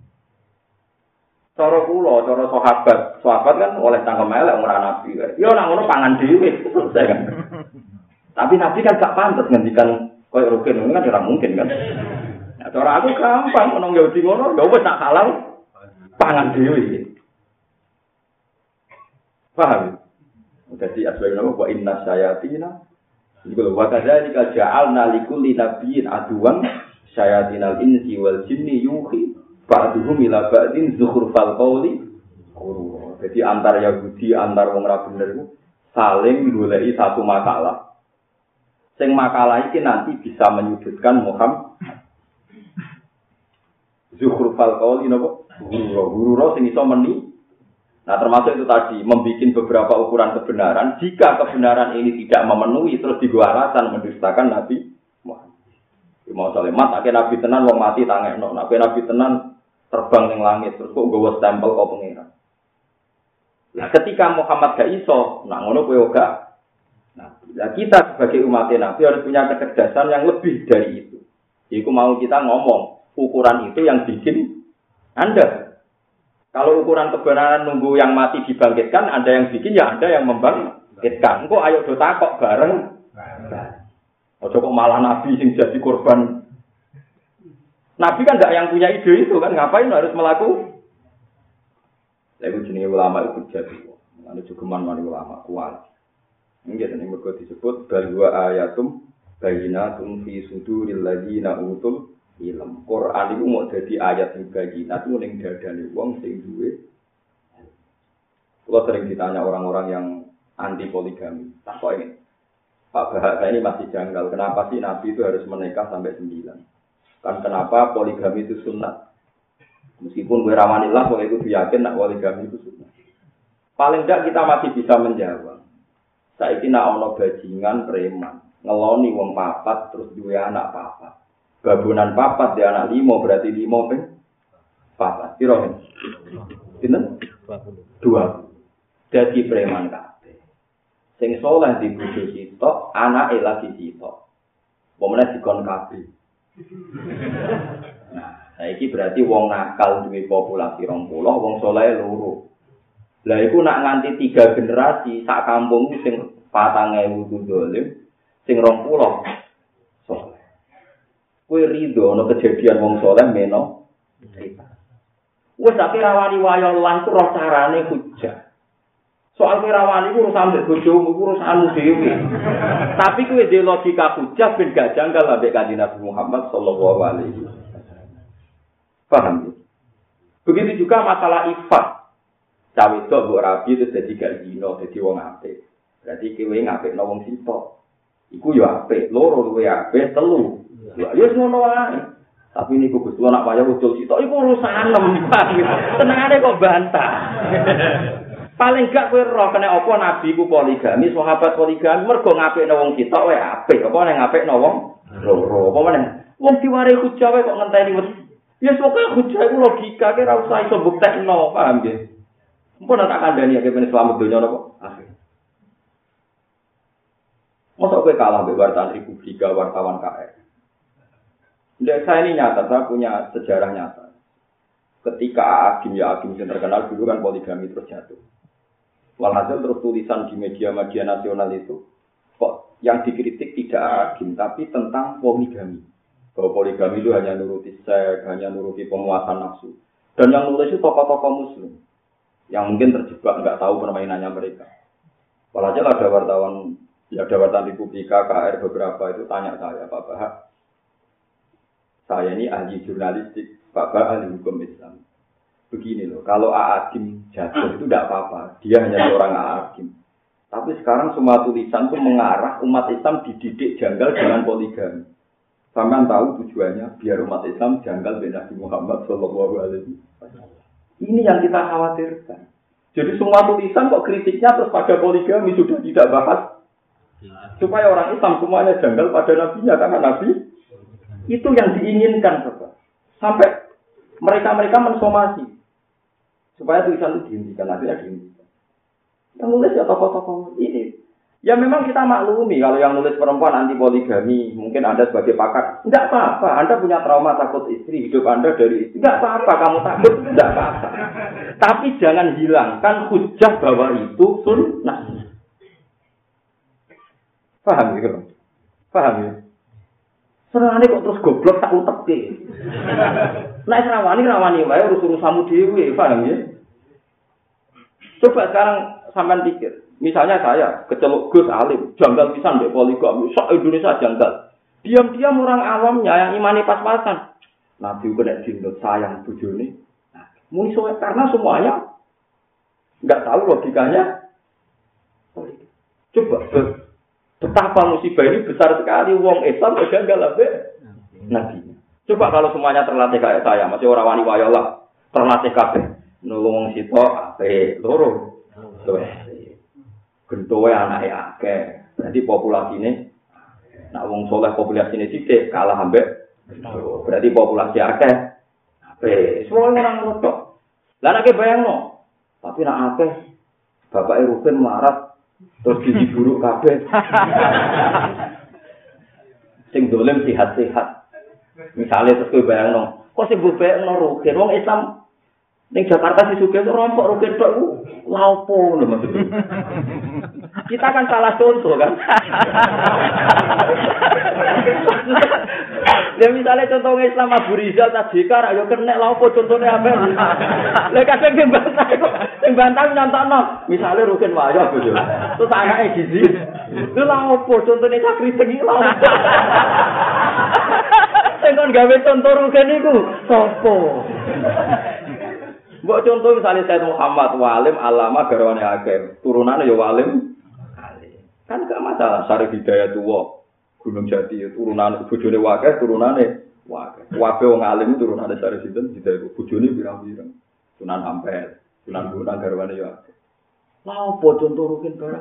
Cara kula, cara sahabat kan oleh cangkem elek ora nabi. Yo nak ngono pangan dhewe selesai kan. Tapi nabi kan gak pantes ngendikan koyo rugen ngono kan ora mungkin kan. Nah, cara aku gampang ono Yahudi ngono, ya wis tak halal pangan dhewe. Paham? Jadi asbab nama wa inna sayatina iku wa kadzalika ja'alna likulli nabiyyin aduwan sayatinal insi wal jinni yuhi ba'duhum ila ba'din zukhrufal qawli. Jadi antar Yahudi, antar wong ra bener iku saling goleki satu makalah. Sing makalah iki nanti bisa menyudutkan Muhammad. Zukhrufal qawli napa? Guru sing iso meni. Nah, termasuk itu tadi membikin beberapa ukuran kebenaran. Jika kebenaran ini tidak memenuhi terus digo alasan mendustakan Nabi Muhammad. Mau salemat, akhirnya Nabi tenan wong mati tangekno. Akhirnya Nabi tenan terbang ning langit terus kok nggawa stempel kok pengiran. Nah, ketika Muhammad gak iso, nah ngono kowe gak. Nah, kita sebagai umat Nabi harus punya kecerdasan yang lebih dari itu. Iku mau kita ngomong, ukuran itu yang bikin Anda. Kalau ukuran kebenaran nunggu yang mati dibangkitkan, ada yang bikin ya ada yang membangkitkan. Engko ayo do takok bareng. Ojo kok malah Nabi sing jadi korban. Nabi kan enggak yang punya ide itu kan, ngapain harus melakukan? Lalu jenenge ulama itu jadi. Ane cukuman mari ulama kuat. Nggih tenan mergo disebut balwa ayatum bayyinatun fi suduril ladzina utul ilm. Quran itu mau jadi ayat yang bayyinat itu ning dadane wong sing duwe. Kalau sering ditanya orang-orang yang anti poligami, tak kok ini Pak Bahasa ini masih janggal. Kenapa sih Nabi itu harus menikah sampai 9? Kan kenapa poligami itu sunat? Meskipun gue rawanillah, gue itu yakin nak poligami itu sunat. Paling tidak kita masih bisa menjawab. Saiki nak ono bajingan preman, ngeloni wong papat terus duwe anak papat. Babunan papat dia anak 5 berarti 5 ping papat. Piro? Pinten? 2. Dadi preman kabeh. Sing saleh di bojo sitok, anake lagi sitok. Pomene dikon kabeh. Nah, saiki berarti wong nakal duwe populasi 20, wong saleh loro. Lah iku nak nganti 3 generasi sak kampung sing 4.000 dolim, sing 20 saleh. Kowe rido ana kejadian wong saleh meno cerita. Wes sak rawani wayo lan ku roh carane hujah. Soal rawani ku urusan mbek bojomu ku urusanmu dhewe. Tapi kowe dhe logika hujah ben gak janggal ambek Kanjeng Nabi Muhammad sallallahu alaihi wasallam. Paham ya? Begitu juga masalah ifat. Cawe tok mbok rabi terus dadi gak zina, dadi wong apik. Berarti kowe ngapikno wong sitok. Iku yo apik, loro luwe apik, telu. Ya wis ngono wae. Tapi niku Gusti nak wayah ucul sitok iku urusanem. Tenangane kok bantah. Paling gak kowe roh kena apa nabi ku poligami, sahabat poligami mergo ngapikno wong sitok wae apik. Apa nek ngapikno wong loro. Apa meneh? Wong diware hujah wae kok ngenteni wis. Ya pokoke hujah iku logika ke ora usah iso buktekno, paham nggih? Mpun tak kandhani ya kene selamat donya napa? Akhir. Masa kowe kalah mbek wartawan Republika, wartawan KR. Saya ini nyata, saya punya sejarah nyata. ketika Agim ya Agim yang terkenal dulu kan poligami terus jatuh. Walhasil terus tulisan di media-media nasional itu kok yang dikritik tidak Agim tapi tentang poligami. Bahwa poligami itu hanya nuruti seks, hanya nuruti pemuasan nafsu. Dan yang nulis itu tokoh-tokoh muslim yang mungkin terjebak nggak tahu permainannya mereka. Walhasil ada wartawan Republika KR beberapa itu tanya saya, Pak Bahak, saya ini ahli jurnalistik, Pak Bahak ahli hukum Islam. Begini loh, kalau A'agim jatuh itu tidak apa-apa, dia hanya seorang A'agim. Tapi sekarang semua tulisan itu mengarah umat Islam dididik janggal dengan poligami. Sampai tahu tujuannya biar umat Islam janggal dengan Nabi Muhammad SAW. Ini yang kita khawatirkan. Jadi semua tulisan kok kritiknya terus pada poligami sudah tidak bahas. Supaya orang Islam semuanya janggal pada nabinya karena nabi itu yang diinginkan, Bapak. Sampai mereka mensomasi supaya tulisan itu dihentikan, akhirnya dihentikan. Yang nulis ya tokoh-tokoh ini. Ya memang kita maklumi kalau yang nulis perempuan anti poligami, mungkin Anda sebagai pakar, enggak apa-apa. Anda punya trauma takut istri, hidup Anda dari istri, enggak apa-apa. Kamu takut, enggak apa-apa. Tapi jangan hilangkan hujah bahwa itu sunnah. Paham ya, Bang? Paham ya? Serane kok terus goblok tak utek. Nek rawani wae urus-urusanmu dhewe, paham ya? Coba sekarang sampean pikir. Misalnya saya keceluk Gus alim, janggal pisan mbek poligami, sak Indonesia janggal. Diam-diam orang awamnya yang imani pas-pasan. Nabi kena jindut sayang bojone. Nah, muni soal karena semuanya enggak tahu logikanya. Coba betapa musibah ini besar sekali wong Islam janggal ambek Nabi. Coba kalau semuanya terlatih kayak saya, masih orang wani wayolah, terlatih kabeh. Nulung sitok ape loro. Gentowe anake akeh. Berarti populasine nak wong soleh populasine sithik kalah ambek. Berarti populasi akeh. Ape, semua orang ngono. Lah nek bayangno. Tapi nak akeh bapake Rukin marat terus diburuk kabeh. Sing dolen sehat-sehat. Misale terus kowe bayangno, kok sing bayangno Rukin wong Islam ning Jakarta si sugih rompok Rukin tok ku lha opo lho maksudnya. Kita kan salah contoh kan. Ya misalnya contoh Islam Abu Rizal Tajikar ayo kena lha opo contone amel. Lah kadang sing bantah kok sing bantah nyontokno. Misale Rukin wayo bojo. Terus anake gizi. Lha opo contone Sakri Tengi lha opo. Sing kon gawe contoh Rukin iku sapa? Mbok contoh misalnya Said Muhammad walim alama garwane akeh, turunane ya walim alim. Kan gak masalah Syarif Hidayat tuwa, Gunung Jati turunane bojone wakeh, turunane wakeh. Kabeh wong alim turunane Syarif Hidayat, bojone pirang-pirang. Sunan Ampel, Sunan Bonang garwane ya akeh. Lah opo contoh Rukin barang.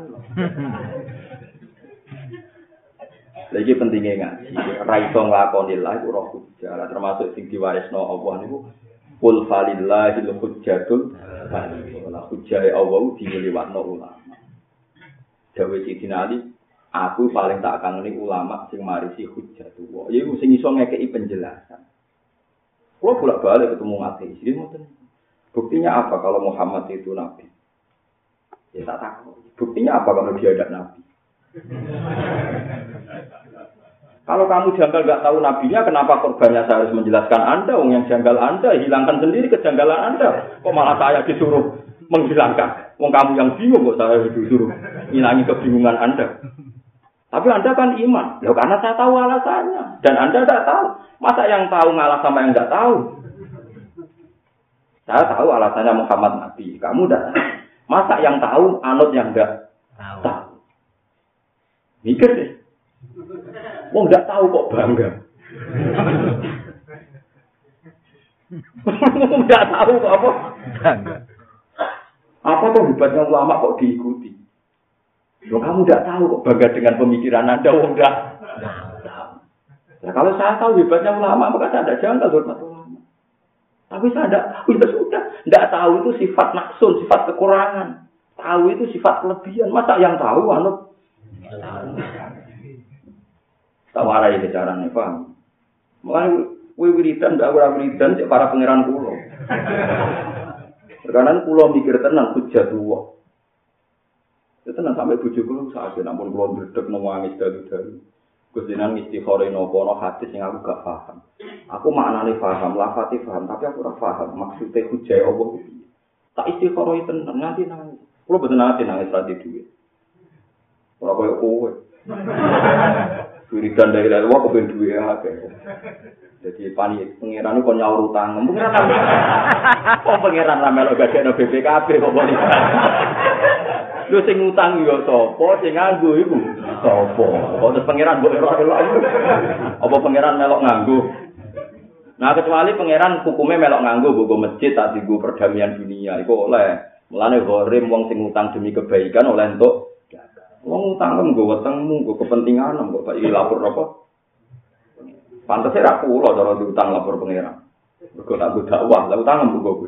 Lagi pentingnya ngaji, ra iso nglakoni la iku roh hujjah, termasuk sing diwarisno Allah niku Qul falillahil hujjatul baligh. Hujjah Allah diliwatno ulama. Dawe Sidina Ali, aku paling tak kangeni ulama sing marisi hujjatullah. Iku sing iso ngekeki penjelasan. Kalau bolak-balik ketemu ateis, iki ngoten. Buktinya apa kalau Muhammad itu nabi? Ya tak tahu. Buktinya apa kalau dia ada nabi? Kalau kamu janggal nggak tahu nabinya, kenapa korbannya saya harus menjelaskan Anda? Wong yang janggal Anda, hilangkan sendiri kejanggalan Anda. Kok malah saya disuruh menghilangkan? Wong kamu yang bingung kok saya disuruh hilangi kebingungan Anda. Tapi Anda kan iman. Ya karena saya tahu alasannya. Dan Anda tidak tahu. Masa yang tahu ngalah sama yang nggak tahu? Saya tahu alasannya Muhammad Nabi. Kamu tidak tahu. Masa yang tahu anut yang nggak tahu? Mikir deh. Wong nggak tahu kok bangga. Nggak tahu kok apa? Bangga. Apa tuh hebatnya ulama kok diikuti? Loh, kamu nggak tahu kok bangga dengan pemikiran Anda, wong nggak tahu. Nah, kalau saya tahu hebatnya ulama, maka saya tidak janggal hormat ulama. Tapi saya tidak tahu, ya sudah. Tidak tahu itu sifat naksun, sifat kekurangan. Tahu itu sifat kelebihan. Masa yang tahu anut? Tawarai ke caranya, paham? Mulai wiridan, tidak wiridan, para pangeran kulo. Karena kula mikir tenan hujjatullah. Itu tenan sampai bojo kula sak ampun kula ndredeg nangis dalu-dalu. Gus jenengan istikharah napa ana hadis sing aku gak paham. Aku maknane paham, lafate paham, tapi aku ora paham maksude hujjah Allah piye. Tak istikharah tenan nganti nangis. Kula boten nate nangis radi duwe. Ora koyo kowe. Wiridan dari Allah kepen duwe akeh. Jadi pangeran kok nyaur utang. Pangeran ra melok gagekno BPKB kok boleh. Lho sing utang yo sapa, sing nganggo iku sapa? Kok pangeran mbok elok-elok. Apa pangeran melok nganggo? Nah kecuali pangeran hukume melok nganggo nggo masjid tak dienggo perdamaian dunia iku oleh. Mulane gharim wong sing utang demi kebaikan oleh entuk. Wong utang nggo wetengmu, nggo kepentingan, kok iki lapor apa? Pantes ra kula cara diutang lapor pangeran. Mergo tak dakwah, lha utang mbok.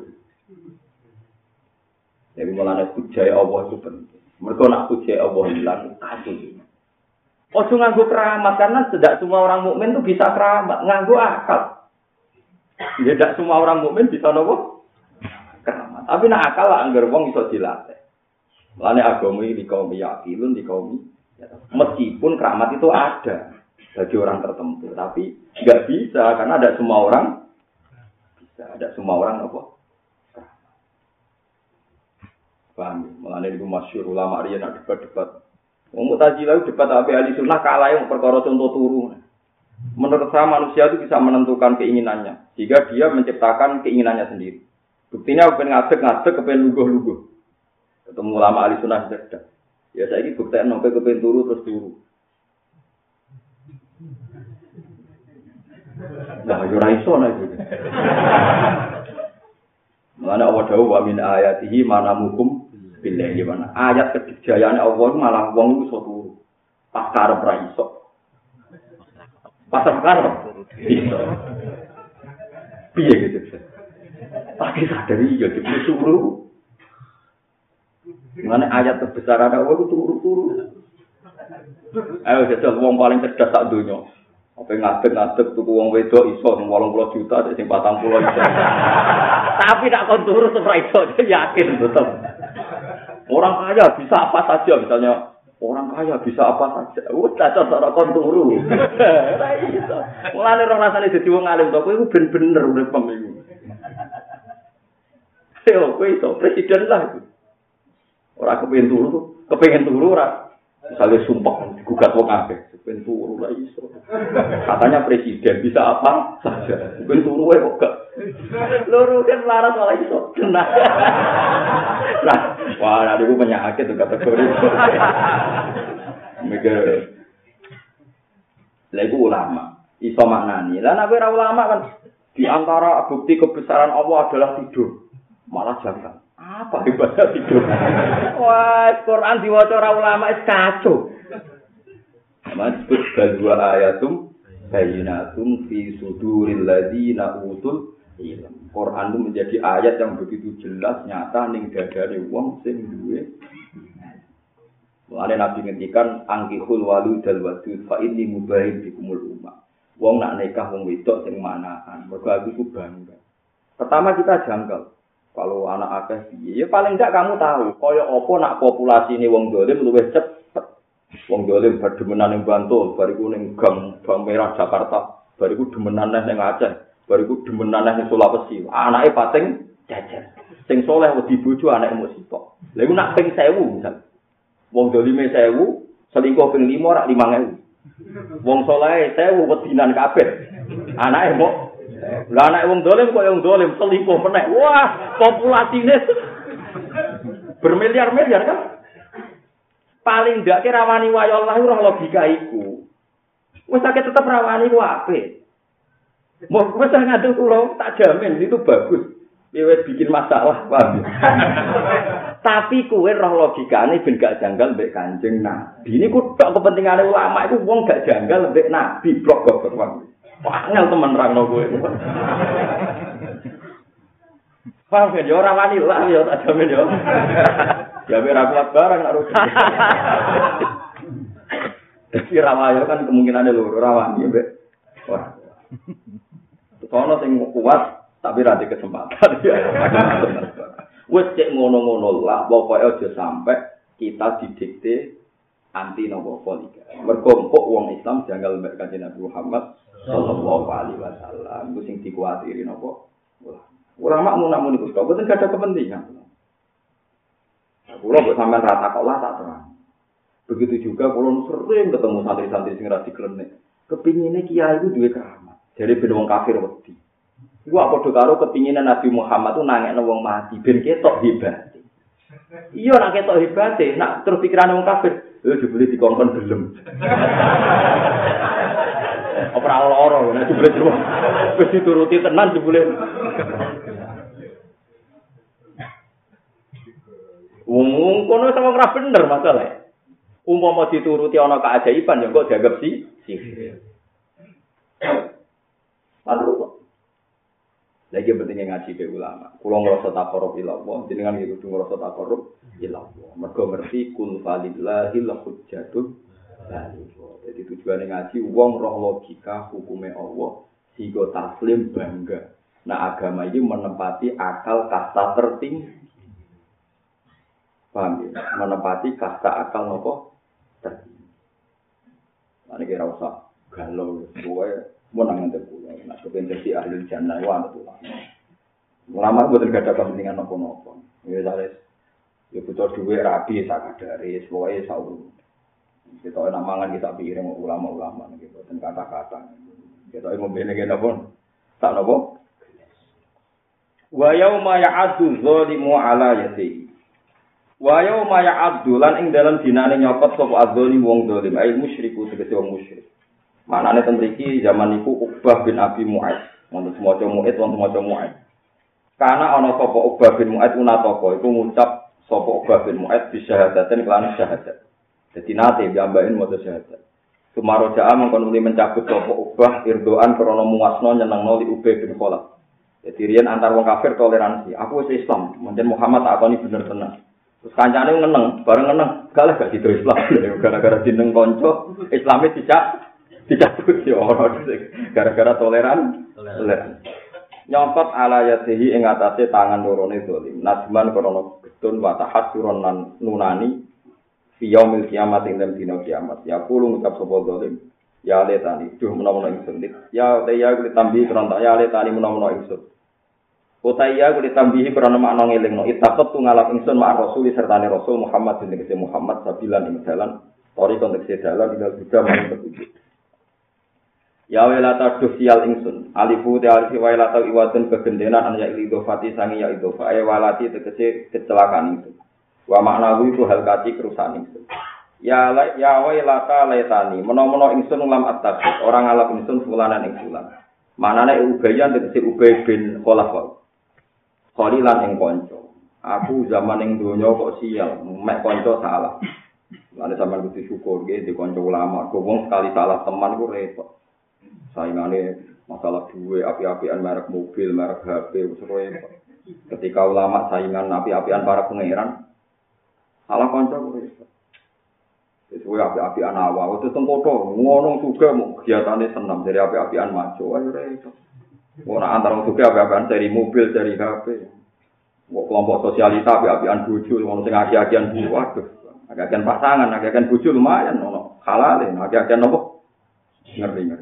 Jadi mulane puji Allah itu penting. Mergo nak puji Allah hilang kasih. Ojo nganggo keramat karena tidak semua orang mukmin itu bisa keramat, nganggo akal. Ya tidak semua orang mukmin bisa nopo? Keramat. Tapi nak akal lah anggar wong iso dilatih. Mulane agama iki kaum yakilun di kaum meskipun keramat itu ada bagi orang tertentu, tapi enggak bisa karena ada semua orang bisa, ada semua orang apa? Paham? Mulane itu masyhur ulama riyen nak debat-debat. Wong Mu'tazilah debat ape ahli sunnah kalah yang perkara contoh turu. Menurut saya manusia itu bisa menentukan keinginannya, jika dia menciptakan keinginannya sendiri. Buktinya kepen ngadeg, kepen luguh-luguh. Ketemu ulama ahli sunnah debat. Ya saiki buktian nopo kepen turu terus turu. Lah yo ora iso nek iki. Mulane Allah dawuh wa min ayatihi manamukum billahi mana. Ayat kedijayane Allah malah wong iso turu. Pas karep ra iso. Pas karep iso. Piye gitu. Tapi sadari ya disuruh. Mulane ayat terbesar ada Allah turu-turu. Ayo jajal wong paling cerdas sak donya. Apa ngadeg-ngadeg tuku wong wedok iso 80 juta sing 40 iso. Tapi tak kon turu ora iso, yakin betul. Orang kaya bisa apa saja misalnya orang kaya bisa apa saja. Udah cara kon turu. Ora iso. Mulane ora rasane dadi wong alim to, kowe iku ben-bener urip pemilu. Yo, kowe iso presiden lah itu. Ora kepengin turu ora. Misalnya sumpah digugat wong akeh, ben turu ora iso. Katanya presiden bisa apa saja. Ben turu wae kok gak. Loro kan laras malah iso. Tenang. Nah, wah niku penyakit tuh kategori. Mikir. Lha iku ulama, iso maknani. Lah nek ora ulama kan di antara bukti kebesaran Allah adalah tidur. Malah jangan. Apa hebatnya tidur? Wah, Quran diwaca ora ulama wis kacau. Disebut dua ayatum bayyinatun fi suduril ladzina utul ilm. Quran itu menjadi ayat yang begitu jelas nyata ning dadane wong sing duwe. Mulane Nabi ngendikan angkihul waludal wadud fa inni mubahin bikumul ummah. Wong nak nikah wong wedok sing manahan. Mergo aku ku bangga. Pertama kita janggal. Kalau anak akeh piye, ya paling enggak kamu tahu kaya apa nak populasi ini wong dolim luwih cepet. Wong dolim berdemenan ning Bantul, bariku ning Gang Merah Jakarta, bariku demenan ning Aceh, bariku demenan ning Sulawesi. Anake pating jajar. Sing saleh wedi bojo anake mung sitok. Lha iku nak ping 1000 misal. Wong dolime 1000, selingkuh ping 5 rak 5000. Wong saleh 1000 wedinan kabeh. Anake mung lah anak wong dolim kok yang dolim selingkuh meneh. Wah, populasine bermiliar-miliar kan. Paling ndak ki rawani wayo Allah ora logika iku. Wis akeh tetep rawani ku apik. Mau wis ngadu kula tak jamin itu bagus. Wis bikin masalah, paham. Tapi kowe roh logikane ben gak janggal mbek Kanjeng Nabi. Niku tok kepentingane ulama iku wong gak janggal mbek Nabi blok kok. Wah, ngel temen rangno kowe. Paham ya, ora wani lah ya tak jamin ya. Ya ora kuat barang nak rugi. Dadi rawayo kan kemungkinane loro rawani mbek. Wah. Sono sing kuat Tapi ra di kesempatan ya. Wes cek ngono-ngono lah, pokoke aja sampai kita didikte anti nopo poligami. Mergo kok wong Islam janggal mbek Kanjeng Nabi Muhammad sallallahu alaihi wasallam. Iku sing dikuatiri nopo? Ulama mun iku kok boten ada kepentingan. Kula kok sampean rata kok lah tak terang. Begitu juga kula sering ketemu santri-santri sing ra diklenek. Kepingine kiai itu duwe keramat. Jadi ben wong kafir wedi. Iku padha karo kepingine Nabi Muhammad tuh nangekno wong mati ben ketok hebat. Iya nak ketok hebate, nak terus pikirane wong kafir, jebule dikongkon gelem. Ora lara, nek jebule terus wis dituruti tenan jebule. Wong kono sama ora bener masalah. Umpama dituruti ana keajaiban ya kok dianggap sihir. Lalu lagi pentingnya ngaji ke ulama. Kulo ngrasa taqarrub ila Allah, jenengan iki kudu ngrasa taqarrub ila Allah. Mergo ngerti kun falillahil hujjatul baligh. Jadi tujuane ngaji wong roh logika hukume Allah sehingga taslim bangga. Nah agama ini menempati akal kasta tertinggi. Paham ya? Menempati kasta akal nopo tertinggi. Nah ini kira usah galau, pokoknya menang nanti pulau. Nah kepentingan si ahli jannah itu ada tuh. Ulama itu tidak ada kepentingan nopo-nopo. Ya saya, ya butuh duit rabi, sakadari, pokoknya sahur. Kita enak mangan kita pikirin ulama-ulama gitu, dan kata-kata. Kita membeli kita pun tak nopo. Wa yauma ya'addu dzalimu ala yadihi. Wa yauma ya'addu lan ing dalam dinane nyokot sapa adzzalim wong zalim, ai musyriku tegese wong musyrik. Manane ten mriki zaman niku Uqbah bin Abi Mu'adz, wonten semaca Mu'adz wonten semaca Mu'adz. Kana ana sapa Uqbah bin Mu'adz unataka iku ngucap sapa Uqbah bin Mu'adz bisyahadaten kelan syahadat. Dadi nate jambain maca syahadat. Sumaroja mangkon muni mencabut sapa Uqbah irdoan krana muasno nyenengno li Ubay bin Khalaf. Jadi riyen antar wong kafir toleransi. Aku wis Islam, mungkin Muhammad takoni bener tenan. Terus kancane ngeneng, bareng ngeneng, kalah gak dido Islam. Gara-gara jeneng kanca, Islame dicabut ya ora gara-gara toleran. Nyongkot ala yatihi ing atase tangan lorone zalim. Nasman krana getun wa tahassuron lan nunani fi yaumil kiamat ing dalem dina kiamat. Ya kulo ngucap sapa zalim. Ya letani, duh menawa ingsun. Ya ya kuwi tambi krana ya letani menawa ingsun. Utaya kuwi tambihi krana makna ngelingno. Itaqat ngalap ingsun mak rasul sertane Rasul Muhammad bin Muhammad sabilan ing dalan. Tori konteks dalan ing juga maring petunjuk. Ya welata dusial ingsun alifu te alifi welata iwatun kegendenan an ya idofati sangi ya idofa ay walati tegese kecelakaan itu wa maknawi itu hal kati kerusakan ingsun ya welata laitani menawa ingsun lam at-takhid orang ngalap ingsun fulanan ing fulan manane ubayan tegese ubay bin khalaf khalilan ing kanca aku zaman ing donya kok sial mek kanca salah lan sampeyan kudu syukur nggih di kanca ulama kok wong sekali salah teman ku repot. Saingane masalah duwe api-apian merek mobil, merek HP, repot. Ketika ulama saingan api-apian para pangeran, salah kanca kuwi. Wis kuwi api-apian awak, wis tengkoto, ngono juga kegiatane senam dari api-apian maco, ayo repot. Ora antara juga api-apian dari mobil, dari HP. Kok kelompok sosialita api-apian bojo, ngono sing aki-akian waduh. Aki-akian pasangan, aki-akian bojo lumayan ono halal, aki-akian nopo? Ngerti.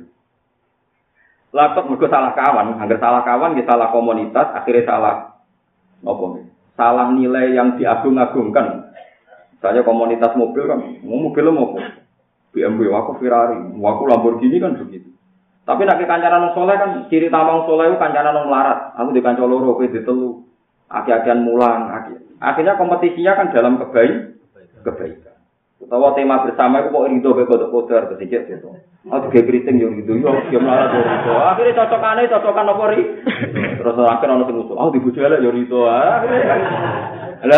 Lapet mergo salah kawan, angger salah kawan, ya salah komunitas, akhirnya salah apa nih? Salah nilai yang diagung-agungkan. Misalnya komunitas mobil kan, mobil mau BMW, aku Ferrari, aku Lamborghini kan begitu. Tapi nek kancanan soleh kan ciri tamang soleh itu kancanan melarat. Aku di kanca loro kowe ditelu. Aki-akian mulang, akhirnya kompetisinya kan dalam kebaikan. Utawa tema bersama itu kok rido be kodok-kodok sedikit gitu. Aku ge kriting yo rido yo melarat yo rido. Akhire cocokan apa ri? Terus akhir ono sing usul. Aku dibojo elek yo rido. Lah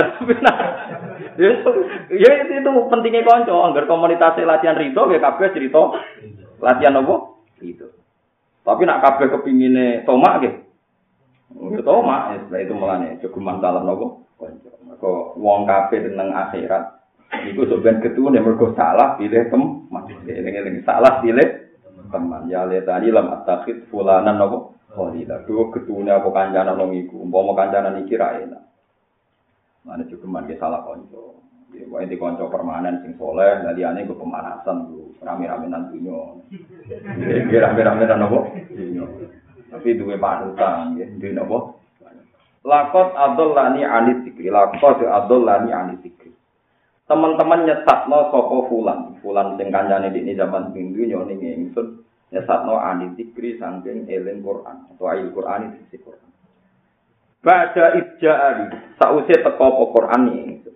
ya itu pentingnya kanca, anggar komunitas latihan rido ge kabeh cerita latihan apa? Rido. Tapi nak kabeh kepingine tomak ge. Yo tomak, itu melane jogeman dalam napa? Kanca. Mergo wong kabeh tenang akhirat. Iku sampeyan ketune mergo salah pilih teman. Eling-eling salah pilih teman. Ya le tadi lam atakhid fulanan napa? khalila. Duwe getune apa kancanan wong iku, umpama kancanan iki ra enak. Mane juga mangke salah kanca. Ya wae di kanca permanen sing saleh, liyane go pemanasan lho, rame-rame nang dunyo. Nggih rame-rame nang apa? Dunyo. Tapi duwe panutan nggih, duwe napa? Laqad adallani anit dzikri, laqad adallani anit dzikri. Teman-teman nyesatno sapa fulan sing kancane dikne zaman dunyo ning ingsun nyesatno anit dzikri saking eling Quran atau ayat Quran isi Quran. Ba'da ijja'ali sause teko apa Quran iki.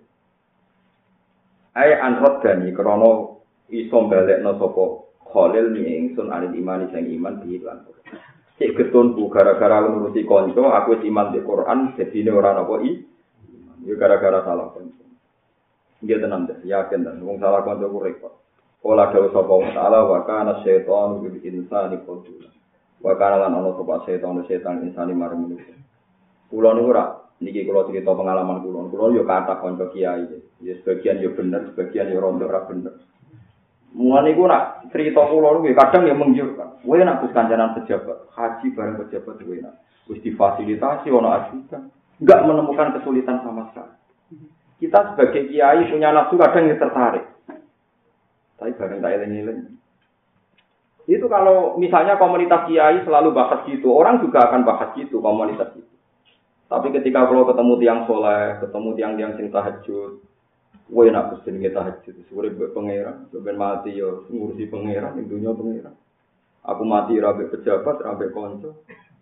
Ai anrodani krana iso balekno sapa Khalil ni ingsun alil imani sing iman di lan. Cek ketunku gara-gara nuruti kanca aku wis iman di Quran dadine ora napa ya gara-gara salah kanca. Nggih tenan yakin dan wong salah kanca ku repot. Kala dawuh sapa wa ta'ala wa kana syaitanu bil insani qadula. Wa kana lan ana sapa setan insani marang manusia. Kula niku ora niki kula cerita pengalaman kula yo kathah kanca kiai. Ya sebagian yo bener, sebagian yo rondo ora bener. Mulane niku nak cerita kula niku kadang yo mengjurkan. Kowe nak wis kancanan pejabat, haji bareng pejabat kowe nak. Wis difasilitasi ana ajudan, enggak menemukan kesulitan sama sekali. Kita sebagai kiai punya nafsu kadang yang tertarik. Tapi bareng tak eling-eling. Itu kalau misalnya komunitas kiai selalu bahas gitu, orang juga akan bahas gitu komunitas itu. Tapi ketika kalau ketemu tiang soleh, ketemu tiang-tiang sing tahajud, kowe nak pesen tahajud, urip mbek pangeran, ben mati yo ngurusi pangeran ning dunya pangeran. Aku mati ra mbek pejabat, ra mbek kanca.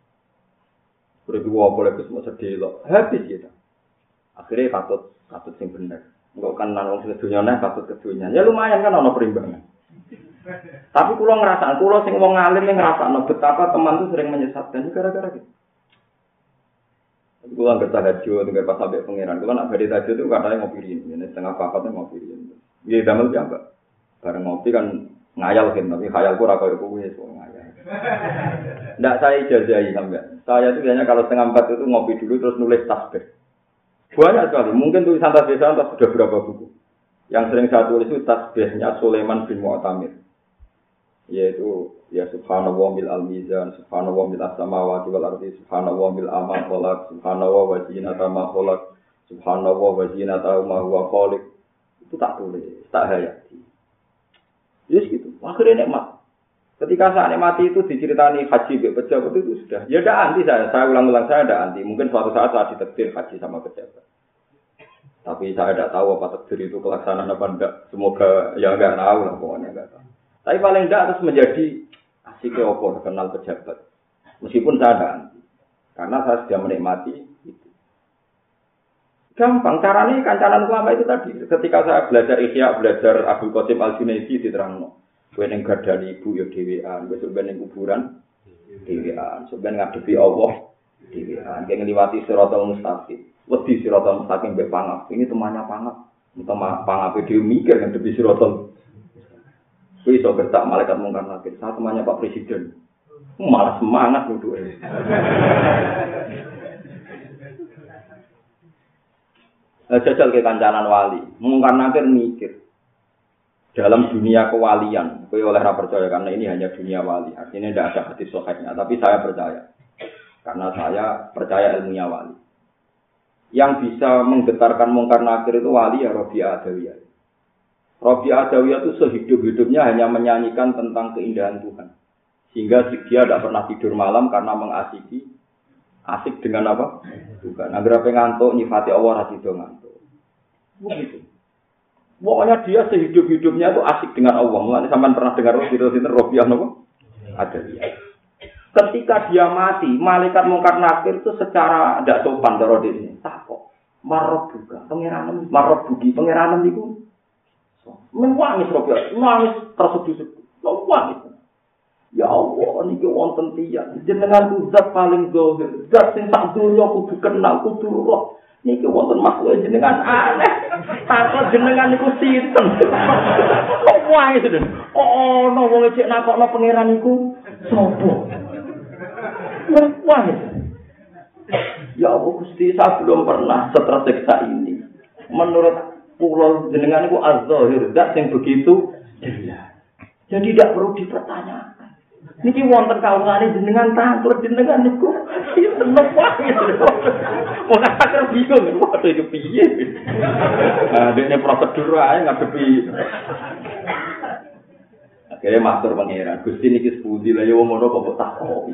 Urip wae boleh kesemu sedelo. Habis kita. Akhirnya katut sing bener. Engko kan nang wong sedunya neh katut kedunya. Ya lumayan kan ana perimbangan. Tapi kula ngrasakno, kula sing wong alim ning ngrasakno betapa teman itu sering menyesatkan gara-gara gitu. Kula nggak tahajud, nggak pas sampai pangeran. Kula nak beri tahajud itu katanya ngopi ini setengah pakatnya ngopi ini. Iya damel piambak. Bareng ngopi kan ngayal kan, tapi khayalku ora koyo kowe so ngayal. Ndak saya ijazahi sampean. Saya itu biasanya kalau setengah 4 itu ngopi dulu terus nulis tasbih. Banyak sekali. Mungkin tulisan tasbih saya sudah berapa buku. Yang sering saya tulis itu tasbihnya Sulaiman bin Mu'tamir. Yaitu ya subhanallah bil al-mizan, subhanallah bil as-samawati wal ardi, subhanallah bil amal khalaq, subhanallah wa zinata ma khalaq, subhanallah wa zinata ma huwa khaliq. Itu tak tulis, tak hayati. Yes gitu. Akhirnya nikmat. Ketika saya nikmati itu diceritani haji be pejabat itu sudah. Ya ada anti saya ulang-ulang saya ada anti. Mungkin suatu saat saya ditakdir haji sama pejabat. Tapi saya tidak tahu apa takdir itu kelaksanaan apa enggak. Semoga ya enggak tahu lah pokoknya enggak tahu. Tapi paling tidak harus menjadi asiknya opor kenal pejabat. Meskipun saya ada anti. Karena saya sudah menikmati itu. Gampang. Caranya kancanan ulama itu tadi. Ketika saya belajar Ihya, belajar Abdul Qasim Al-Junaidi diterangno. Kowe ning gadani ibu ya dhewean, besok ben ning kuburan dhewean, sampeyan ngadepi Allah dhewean, kene ngliwati siratal mustaqim. Wedi siratal mustaqim mbek pangap. Ini temannya pangap. Pangape dhewe mikir ngadepi siratal. Kuwi iso bertak malaikat mungkar nakir. Saya temannya Pak Presiden. Malah semangat nuduhe. Jajal ke kancanan wali, mungkar nakir mikir. Dalam dunia kewalian, saya oleh percaya karena ini hanya dunia wali. Artinya tidak ada hadis sahihnya, tapi saya percaya. Karena saya percaya ilmunya wali. Yang bisa menggetarkan mungkar nakir itu wali ya Rabi'ah Adawiyah. Rabi'ah Adawiyah itu sehidup-hidupnya hanya menyanyikan tentang keindahan Tuhan. Sehingga dia tidak pernah tidur malam karena asik dengan apa? Tuhan. Agar apa ngantuk, nyifati Allah rasido ngantuk. Begitu. Pokoknya dia sehidup-hidupnya itu asik dengan Allah. Mulanya sampean pernah dengar Rabi'ah napa? Adawiyah. Ketika dia mati, malaikat mungkar nakir itu secara tidak sopan cara dene. Takok. Marab juga. Pangeran marab bugi pangeran niku. Menangis Rabi'ah, nangis terseduh-seduh. Nangis. Ya Allah, niki wonten tiyang jenengan zat paling zahir. Zat sing sak donya kudu kenal, kudu roh. Niki wonten makhluk jenengan aneh. Takon jenengan niku sinten? Kok wae sedhen. Kok ana wong cek nakokno pangeran niku sapa? Wae. Ya Allah Gusti, saya belum pernah setersiksa ini. Menurut kula jenengan niku az-zahir, zat sing begitu jelas. Jadi tidak perlu dipertanyakan. Niki wonten kawulane jenengan tanglet jenengan niku seneng wae. Wong akeh bingung wae iki piye. Nah, dene prosedur ae ngadepi. Akhirnya matur pangeran, Gusti niki sepundi lah ya wong ngono kok takok.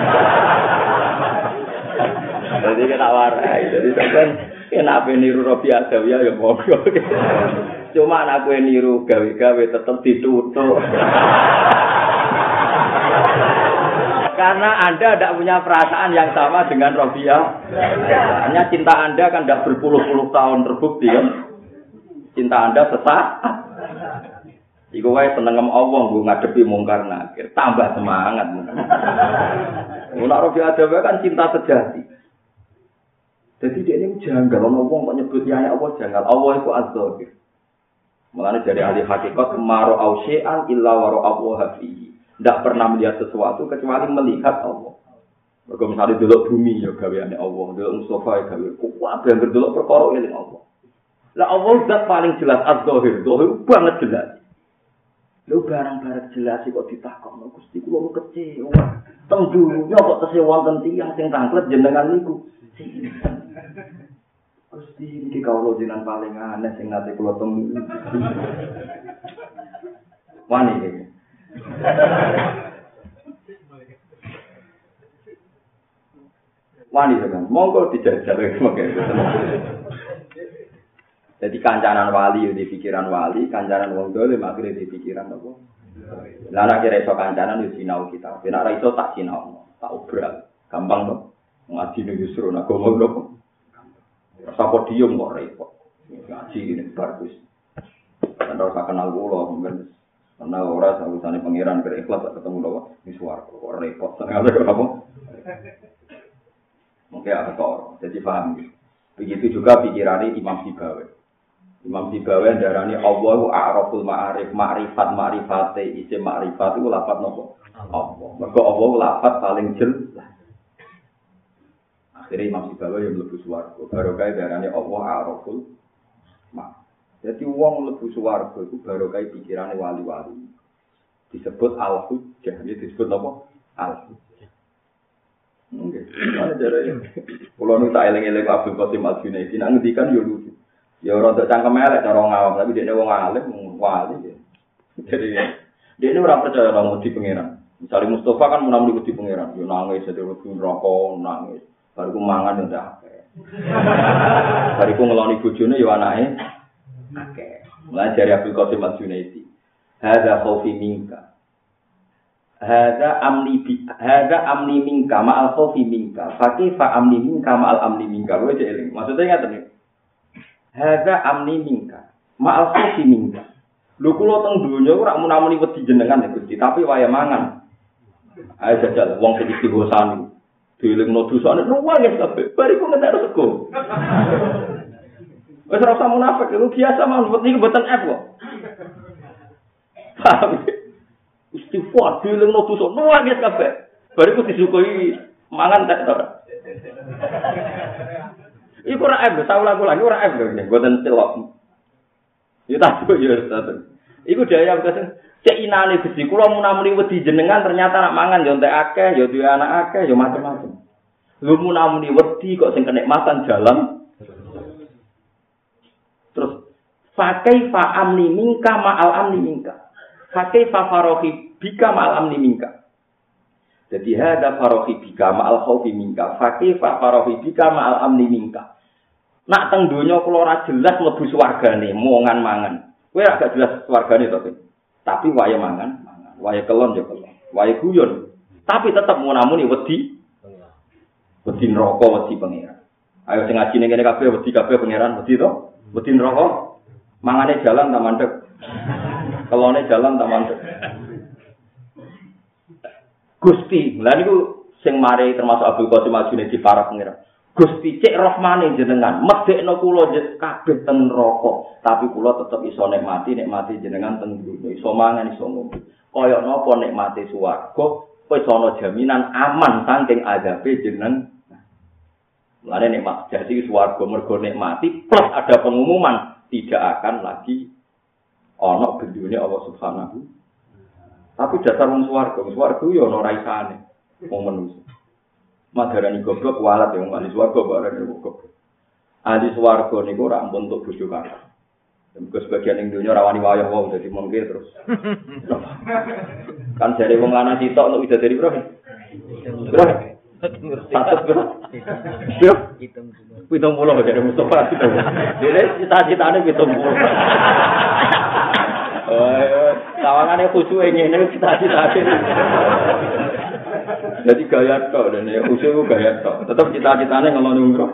Jadi kita warai, jadi sampean kenapa niru Robi Adawiyah ya monggo. Cuma anak gue niru gawe-gawe tetap ditutup. Karena Anda tidak punya perasaan yang sama dengan Robiah. Hanya cinta Anda kan tidak berpuluh-puluh tahun terbukti kan. Cinta Anda sesaat. Iku wae seneng Allah nggo ngadepi mungkar nakir, tambah semangat. Nek Robiah Adawa kan cinta sejati. Jadi dia ini janggal, orang wong kok nyebut ya Allah janggal. Allah itu az-zahir. Mulane dari ahli hakikat maro ausya'an illa waro Allah fihi. Tidak pernah melihat sesuatu kecuali melihat Allah. Mergo misale delok bumi ya gaweane Allah, delok Mustafa ya gawe. Kuwi yang delok perkara eling Allah. Lah Allah zat paling jelas az-zahir, zahir banget jelas. Lho barang-barang jelas kok ditakokno Gusti kula kecewa. Teng dunya kok tesih wonten tiyang sing tanglet jenengan niku. Gusti iki kawula jenengan paling aneh sing nate kula temui. Wani iki. Wani kan, monggo dijajal semoga. Jadi kancanan wali di pikiran wali, kancanan wong dolim akhirnya di pikiran apa? Lah nek kira iso kancanan yo sinau kita. Nek ora iso tak sinau, tak obral. Gampang to. Ngaji ning justru nek ngomong rasa podium kok repot. Ngaji ini bagus. Anda usah kenal kula, mungkin kenal ora sausane pangeran berikhlas ketemu lho wis swarga kok repot. Senengane kok apa? Mungkin aktor. Jadi paham. Begitu juga pikiran Imam Sibawi. Imam Sibawi darani Allahu a'raful ma'arif, ma'rifate isim ma'rifat itu lafaz nopo? Allah. Mergo Allah lafaz paling jelas. Akhirnya Imam Sibawi yang mlebu swarga. Barokah darani Allah a'raful ma. Jadi wong mlebu swarga iku barokah pikirane wali-wali. Disebut al-hujjah, disebut apa? Al-hujjah. Nggih. Ana jarane. Kulo nu tak eling-eling Abdul Qasim Al-Junaidi nang ngendikan yo lucu. Ya ora untuk cangkem elek cara ngawam, tapi dekne wong alim wali ya. Jadi dekne ora percaya nang wedi pangeran. Misale Mustafa kan menamuni wedi pangeran, yo nangis dadi wedi neraka, nangis. Bariku mangan yo ndak akeh. Bariku ngeloni bojone yo anake akeh. Mulai dari Abdul Qasim Al-Junaidi. Hadza khaufi minka. Hadza amni minka ma'al khaufi minka. Fa kaifa amni minka ma'al amni minka. Kowe eling. Maksudnya ngaten iki. Hadza amni minka ma'al khaufi minka. Lho kula teng donya ora munamuni wedi jenengan ya Gusti, tapi waya mangan. Ayo jajal wong sing diwosani. Dielingno dosane luwih kabeh. Bariku ngentek sego. Wis ora usah munafik, lu biasa mawon wedi mboten F kok. Istighfar dielingno dosa luwih kabeh. Bariku disukui mangan tek ora. Iku ora F, saulah-ulah ora F lho, mboten celok. Ya tak yo ustaz. Iku daya kesen cek inane Gusti kula munamuni wedi jenengan ternyata nak mangan yo entek akeh, yo duwe anak akeh, yo macam-macam. Lu munamuni wedi kok sing kenikmatan jalan. Terus fakai fa amni minka ma'al amni minka. Fakai fa farohi bika ma'al amni minka. Jadi hada farohi bika ma'al khaufi minka. Fakai fa farohi bika ma'al amni minka. Nak teng donya kula ora jelas mlebu swargane, mongan mangan. Kowe agak jelas swargane to, tapi wae mangan, wae kelon ya kelon, wae guyon. Tapi tetep munamuni wedi. Wedi neraka, wedi pangeran. Ayo sing ngaji ning kene kabeh wedi kabeh pangeran, wedi to? Wedi neraka. Mangane jalan tak mandek. Kelone jalan tak mandek. Gusti, lha niku sing mari termasuk Abdul Qasim Al-Junaidi para pangeran. Gusti cek rahmane jenengan, medekno kula kabeh teng neraka, tapi kula tetep iso nikmati jenengan teng dunya, iso mangan iso ngombe. Kaya napa nikmati swarga, wis ana jaminan aman saking azabe jeneng. Mulane nikmat jadi swarga mergo nikmati plus ada pengumuman tidak akan lagi ana bendune Allah Subhanahu. Tapi dasar wong swarga yo ana raisane. Wong manusa. Madarani goblok walat yang ahli swarga bareng goblok. Ahli swarga niku ora ampun untuk bojo kakak. Mergo sebagian ning donya rawani wayah wae dadi mungkin terus. Kan jare wong lanang sitok untuk widadari bro. Bro. Satu bro. Bro. 70 jare Mustafa. Dene cita-citane 70. Tawangane khusyuk ngene cita-citane. Jadi gaya tok dan ya khusyuk gaya tok. Tetep cita-citane ngeloni umroh.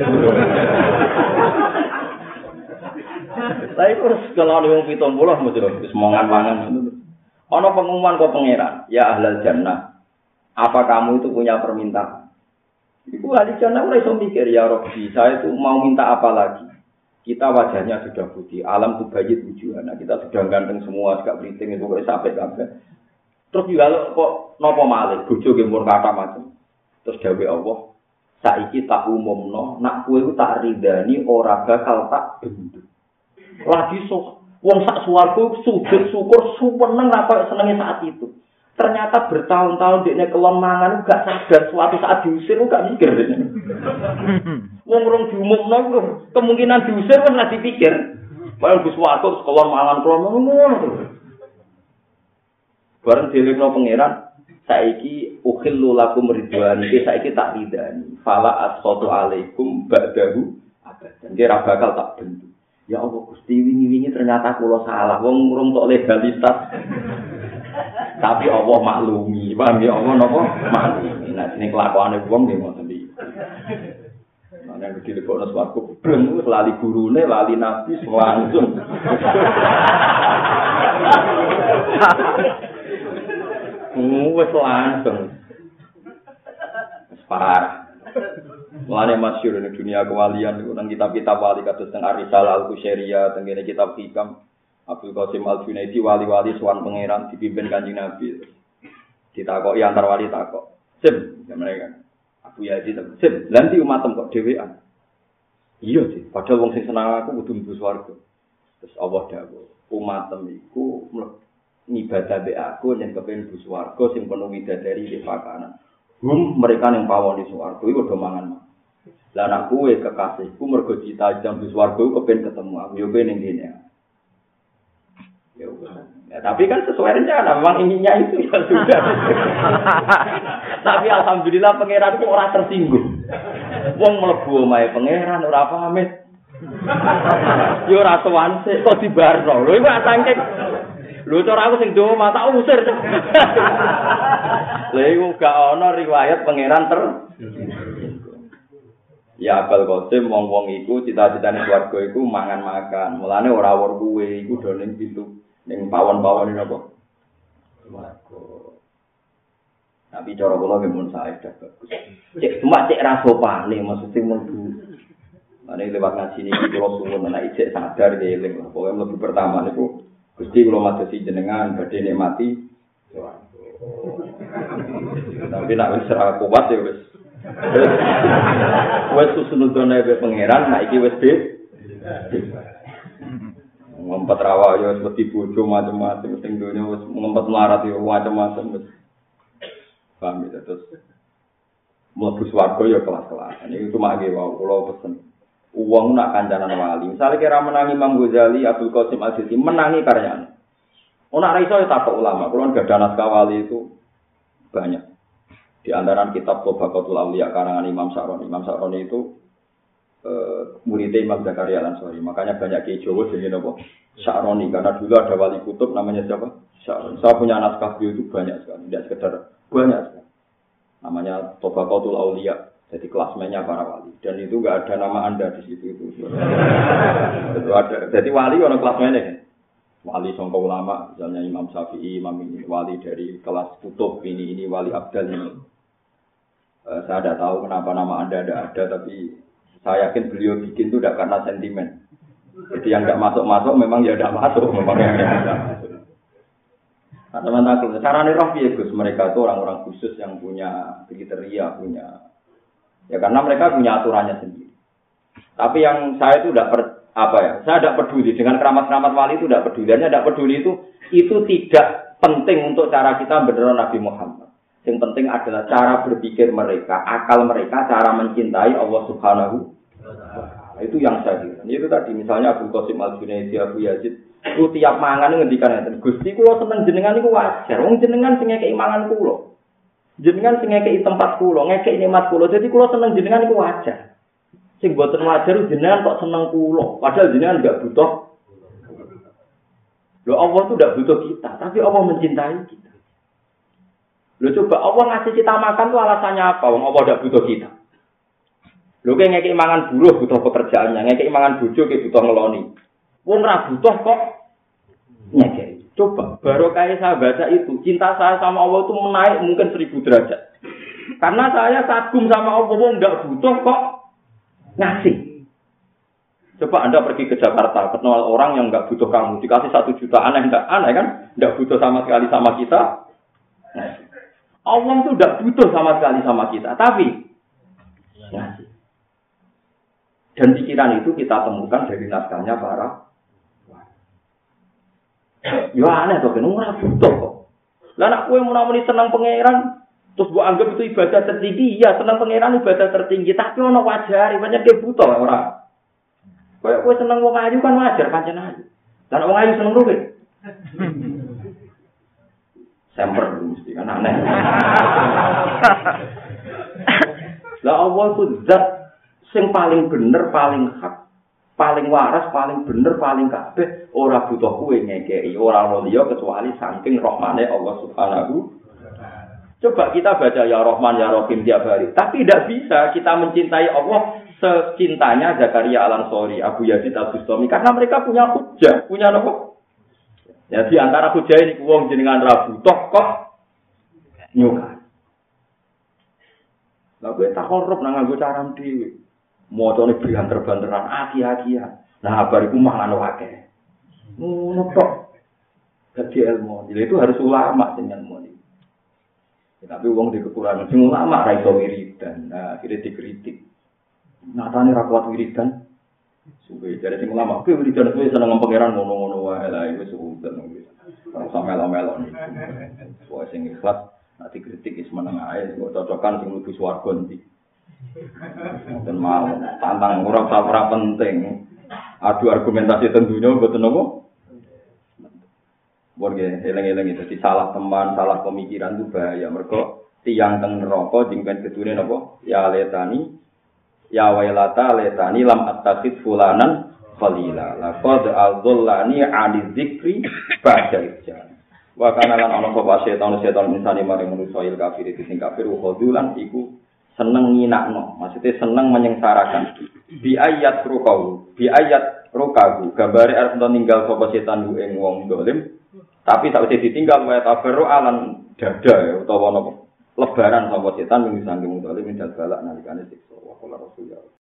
Tapi terus kalau wong 70 mesti wis mangan-mangan. Ana pengumuman kok pangeran, ya ahlal jannah. Apa kamu itu punya permintaan? Iku ahli jannah ora iso mikir ya Rabbi, saya itu mau minta apa lagi? Kita wajahnya sudah putih, alam tuh bayit wujuhana, kita sudah ganteng semua, gak beriting itu kok sampai kabeh. Terus juga kok napa malih bojo ge mun kata macam. Terus dawuh Allah, saiki tak umumno, nak kowe ku tak ridani ora bakal tak bendu. Lagi wong sak swarga sujud syukur seneng apa senenge saat itu. Ternyata bertahun-tahun dekne kelemahan gak sadar suatu saat diusir gak mikir dekne. Wong rong diumumno iku kemungkinan diusir kan lagi pikir. Padahal Gus Warto sekolah mangan ngono. Bareng dilingno pangeran, saiki ukhillu lakum ridwan iki saiki tak ridani. Fala asqatu alaikum ba'dahu abadan. Kira bakal tak bendu. Ya Allah Gusti wingi-wingi ternyata kula salah. Wong urung tok legalitas. Tapi Allah maklumi. Paham ya Allah napa? Maklumi. Nah, ini kelakuane wong nggih ngoten iki. Ana yang dilebokno swarga breng wis lali gurune, lali nabi langsung. Wis langsung. Wis parah. Mulane masyhur ning dunia kewalian niku nang kitab-kitab wali kados teng Ar-Risalah Al-Qusyairiyah, teng kene kitab Hikam Abdul Qasim Al-Junaidi wali-wali sowan pangeran dipimpin Kanjeng Nabi. Ditakoki antar wali takok. Sim, mereka. Abu Yazid, sim, nanti umatem kok dhewean. Iya sih, padahal wong sing seneng aku kudu mlebu swarga. Terus Allah dawuh, umatem iku ngibadah be aku yen kepen mlebu swarga sing penuh widadari di pakanan. Mereka yang pawon di swarga iku do mangan. Lah anak kowe kekasihku mergo cita-cita mlebu swarga kepen ketemu aku yo kene ning kene. Ya, tapi kan sesuai rencana, memang inginnya itu ya sudah. Tapi alhamdulillah pangeran itu orang tersinggung. Wong mlebu omahe pangeran ora pamit. Yo ora sowan sik kok dibarno. Lho iku saking. Lho cara aku sing dowo mata usir. Lha iku gak ana riwayat pangeran Ya Abul Qasim wong-wong iku cita-citane swarga iku mangan-makan. Mulane ora wor kuwe iku do ning pintu ning pawon-pawon napa? Swarga. Tapi cara kula mun saedah bagus. Cek ra sopane maksud sing mlebu. Mane lewat ngaji niki kula suwun anak ijek sadar ngeling. Pokoke mlebu pertama niku Gusti kula madosi jenengan badhe nikmati swarga. Tapi nek wis ra kuat ya wis. Wes susunudone be pangeran, nek iki wis ngempet rawa ya wis wedi bojo macam-macam sing donya wis ngempet melarat ya macam-macam wis. Paham ya terus. Mlebu swarga ya kelas-kelas. Ini cuma nggih wae kula pesen. Wong nak kancanan wali. Misale kira menangi Imam Ghazali, Abdul Qasim Al-Jilani menangi karyane. Ora iso ya takok ulama. Kula gadah naskah wali itu banyak. Di antara kitab Tabaqatul Auliya karangan Imam Sa'roni. Imam Sa'roni itu murid Imam Zakaria Al-Ansari. Makanya banyak kiai Jawa jenenge napa? Sa'roni karena dulu ada wali kutub namanya siapa? Sa'roni. Saya punya naskah beliau itu banyak sekali, tidak sekedar banyak sekali. Namanya Tabaqatul Auliya. Jadi klasmennya para wali. Dan itu enggak ada nama Anda di situ itu. Itu ada. Jadi wali ono klasmennya kan. Wali sangka ulama, misalnya Imam Syafi'i, Imam ini wali dari kelas kutub ini wali Abdal ini. Saya tidak tahu kenapa nama Anda ada, tapi saya yakin beliau bikin itu tidak karena sentimen. Jadi yang tidak masuk memang ya tidak masuk, memang yang tidak masuk. Nah teman-teman, caranya Rafi ya Gus, mereka itu orang-orang khusus yang punya kriteria, punya ya karena mereka punya aturannya sendiri. Tapi yang saya itu saya tidak peduli dengan keramat-keramat wali itu tidak peduli. Hanya tidak peduli itu tidak penting untuk cara kita beneran Nabi Muhammad. Yang penting adalah cara berpikir mereka, akal mereka, cara mencintai Allah Subhanahu wa Ta'ala. Itu yang saya kira. Itu tadi misalnya Abdul Qasim Al-Junaidi, Abu Yazid, itu tiap mangan ngendikan ngeten, Gusti kula seneng jenengan niku wajar. Wong jenengan sing ngekeki mangan kula. Jenengan sing ngekeki tempat kula, ngekeki nikmat kula. Jadi kula seneng jenengan niku wajar. Sing boten wajar jenengan kok seneng kula, padahal jenengan enggak butuh. Loh Allah itu enggak butuh kita, tapi Allah mencintai kita. Loh coba Allah ngasih kita makan tuh alasannya apa? Wong Allah enggak butuh kita. Loh kayak ngekeki mangan buruh butuh pekerjaannya, ngekeki mangan bojo kayak butuh ngeloni. Wong ora butuh kok ngekeki. Coba barokah saya baca itu, cinta saya sama Allah itu menaik mungkin 1000 derajat. Karena saya kagum sama Allah, wong enggak butuh kok ngasih. Coba Anda pergi ke Jakarta, ketemu orang yang enggak butuh kamu, dikasih 1 juta, aneh kan? Enggak butuh sama sekali sama kita. Ngasih. Allah itu enggak butuh sama sekali sama kita, tapi ngasih. Dan pikiran itu kita temukan dari naskahnya para. Ya aneh tuh, kan ora butuh kok. Lah nek kowe muni seneng pangeran, terus mbok anggap itu ibadah tertinggi, ya seneng pangeran ibadah tertinggi, tapi ono wajare, pancen dia butuh ora. Kowe seneng wong ayu kan wajar pancen ayu. Lah nek wong ayu seneng ruwe. Semper mesti kan aneh. Lah Allah itu zat sing paling bener, paling hak, paling waras, paling bener, paling kabeh, ora butuh kowe ngekeki, ora ono liya kecuali saking rahmane Allah Subhanahu. Coba kita baca ya Rahman ya Rahim tiap hari, tapi tidak bisa kita mencintai Allah secintanya Zakaria Al-Ansori, Abu Yazid Al-Bustami, karena mereka punya hujjah, punya apa? Ya di antara hujjah ini wong jenengan ra butuh kok nyuka. Lah kowe tak korup nang nganggo cara dhewe. Mocone banter-banteran aki-akian. Nah, bariku mangan wae. Ngono tok. Dadi ilmu. Jadi itu harus ulama sing ilmu. Ya, tapi wong di kekurangan sing ulama ra iso wiridan. Nah, akhirnya dikritik. Natane ra kuat wiridan. Suwe jare sing ulama, kowe wiridan kowe seneng pangeran ngono-ngono wae lah iku sudah wis. Ora usah melo-melo. Soale sing ikhlas nek dikritik wis meneng ae, kok cocokan sing mlebu swarga ndi. Mboten mau tantang ora penting. Adu argumentasi tentunya mboten apa. Borge eleng-eleng itu salah teman, salah pemikiran itu bahaya. Mergo tiyang teng neraka jengken kedune napa? Ya letani ya wailata letani lam attakhid fulanan qalila. Laqad adzallani 'ani dzikri ba'da ijjan. Wa kana lan ana sapa setan insani maring manusa il kafir iki sing kafir khudulan iku seneng nginakno, maksudnya seneng menyengsarakan. Bi ayat rukahu, gambare arep ninggal sapa setan ku ing wong dolim, tapi sakwise ditinggal wae tabarru alan dada ya utawa napa lebaran sapa setan ing sanging dolim dal balak nalikane siksa wa qala rasulullah.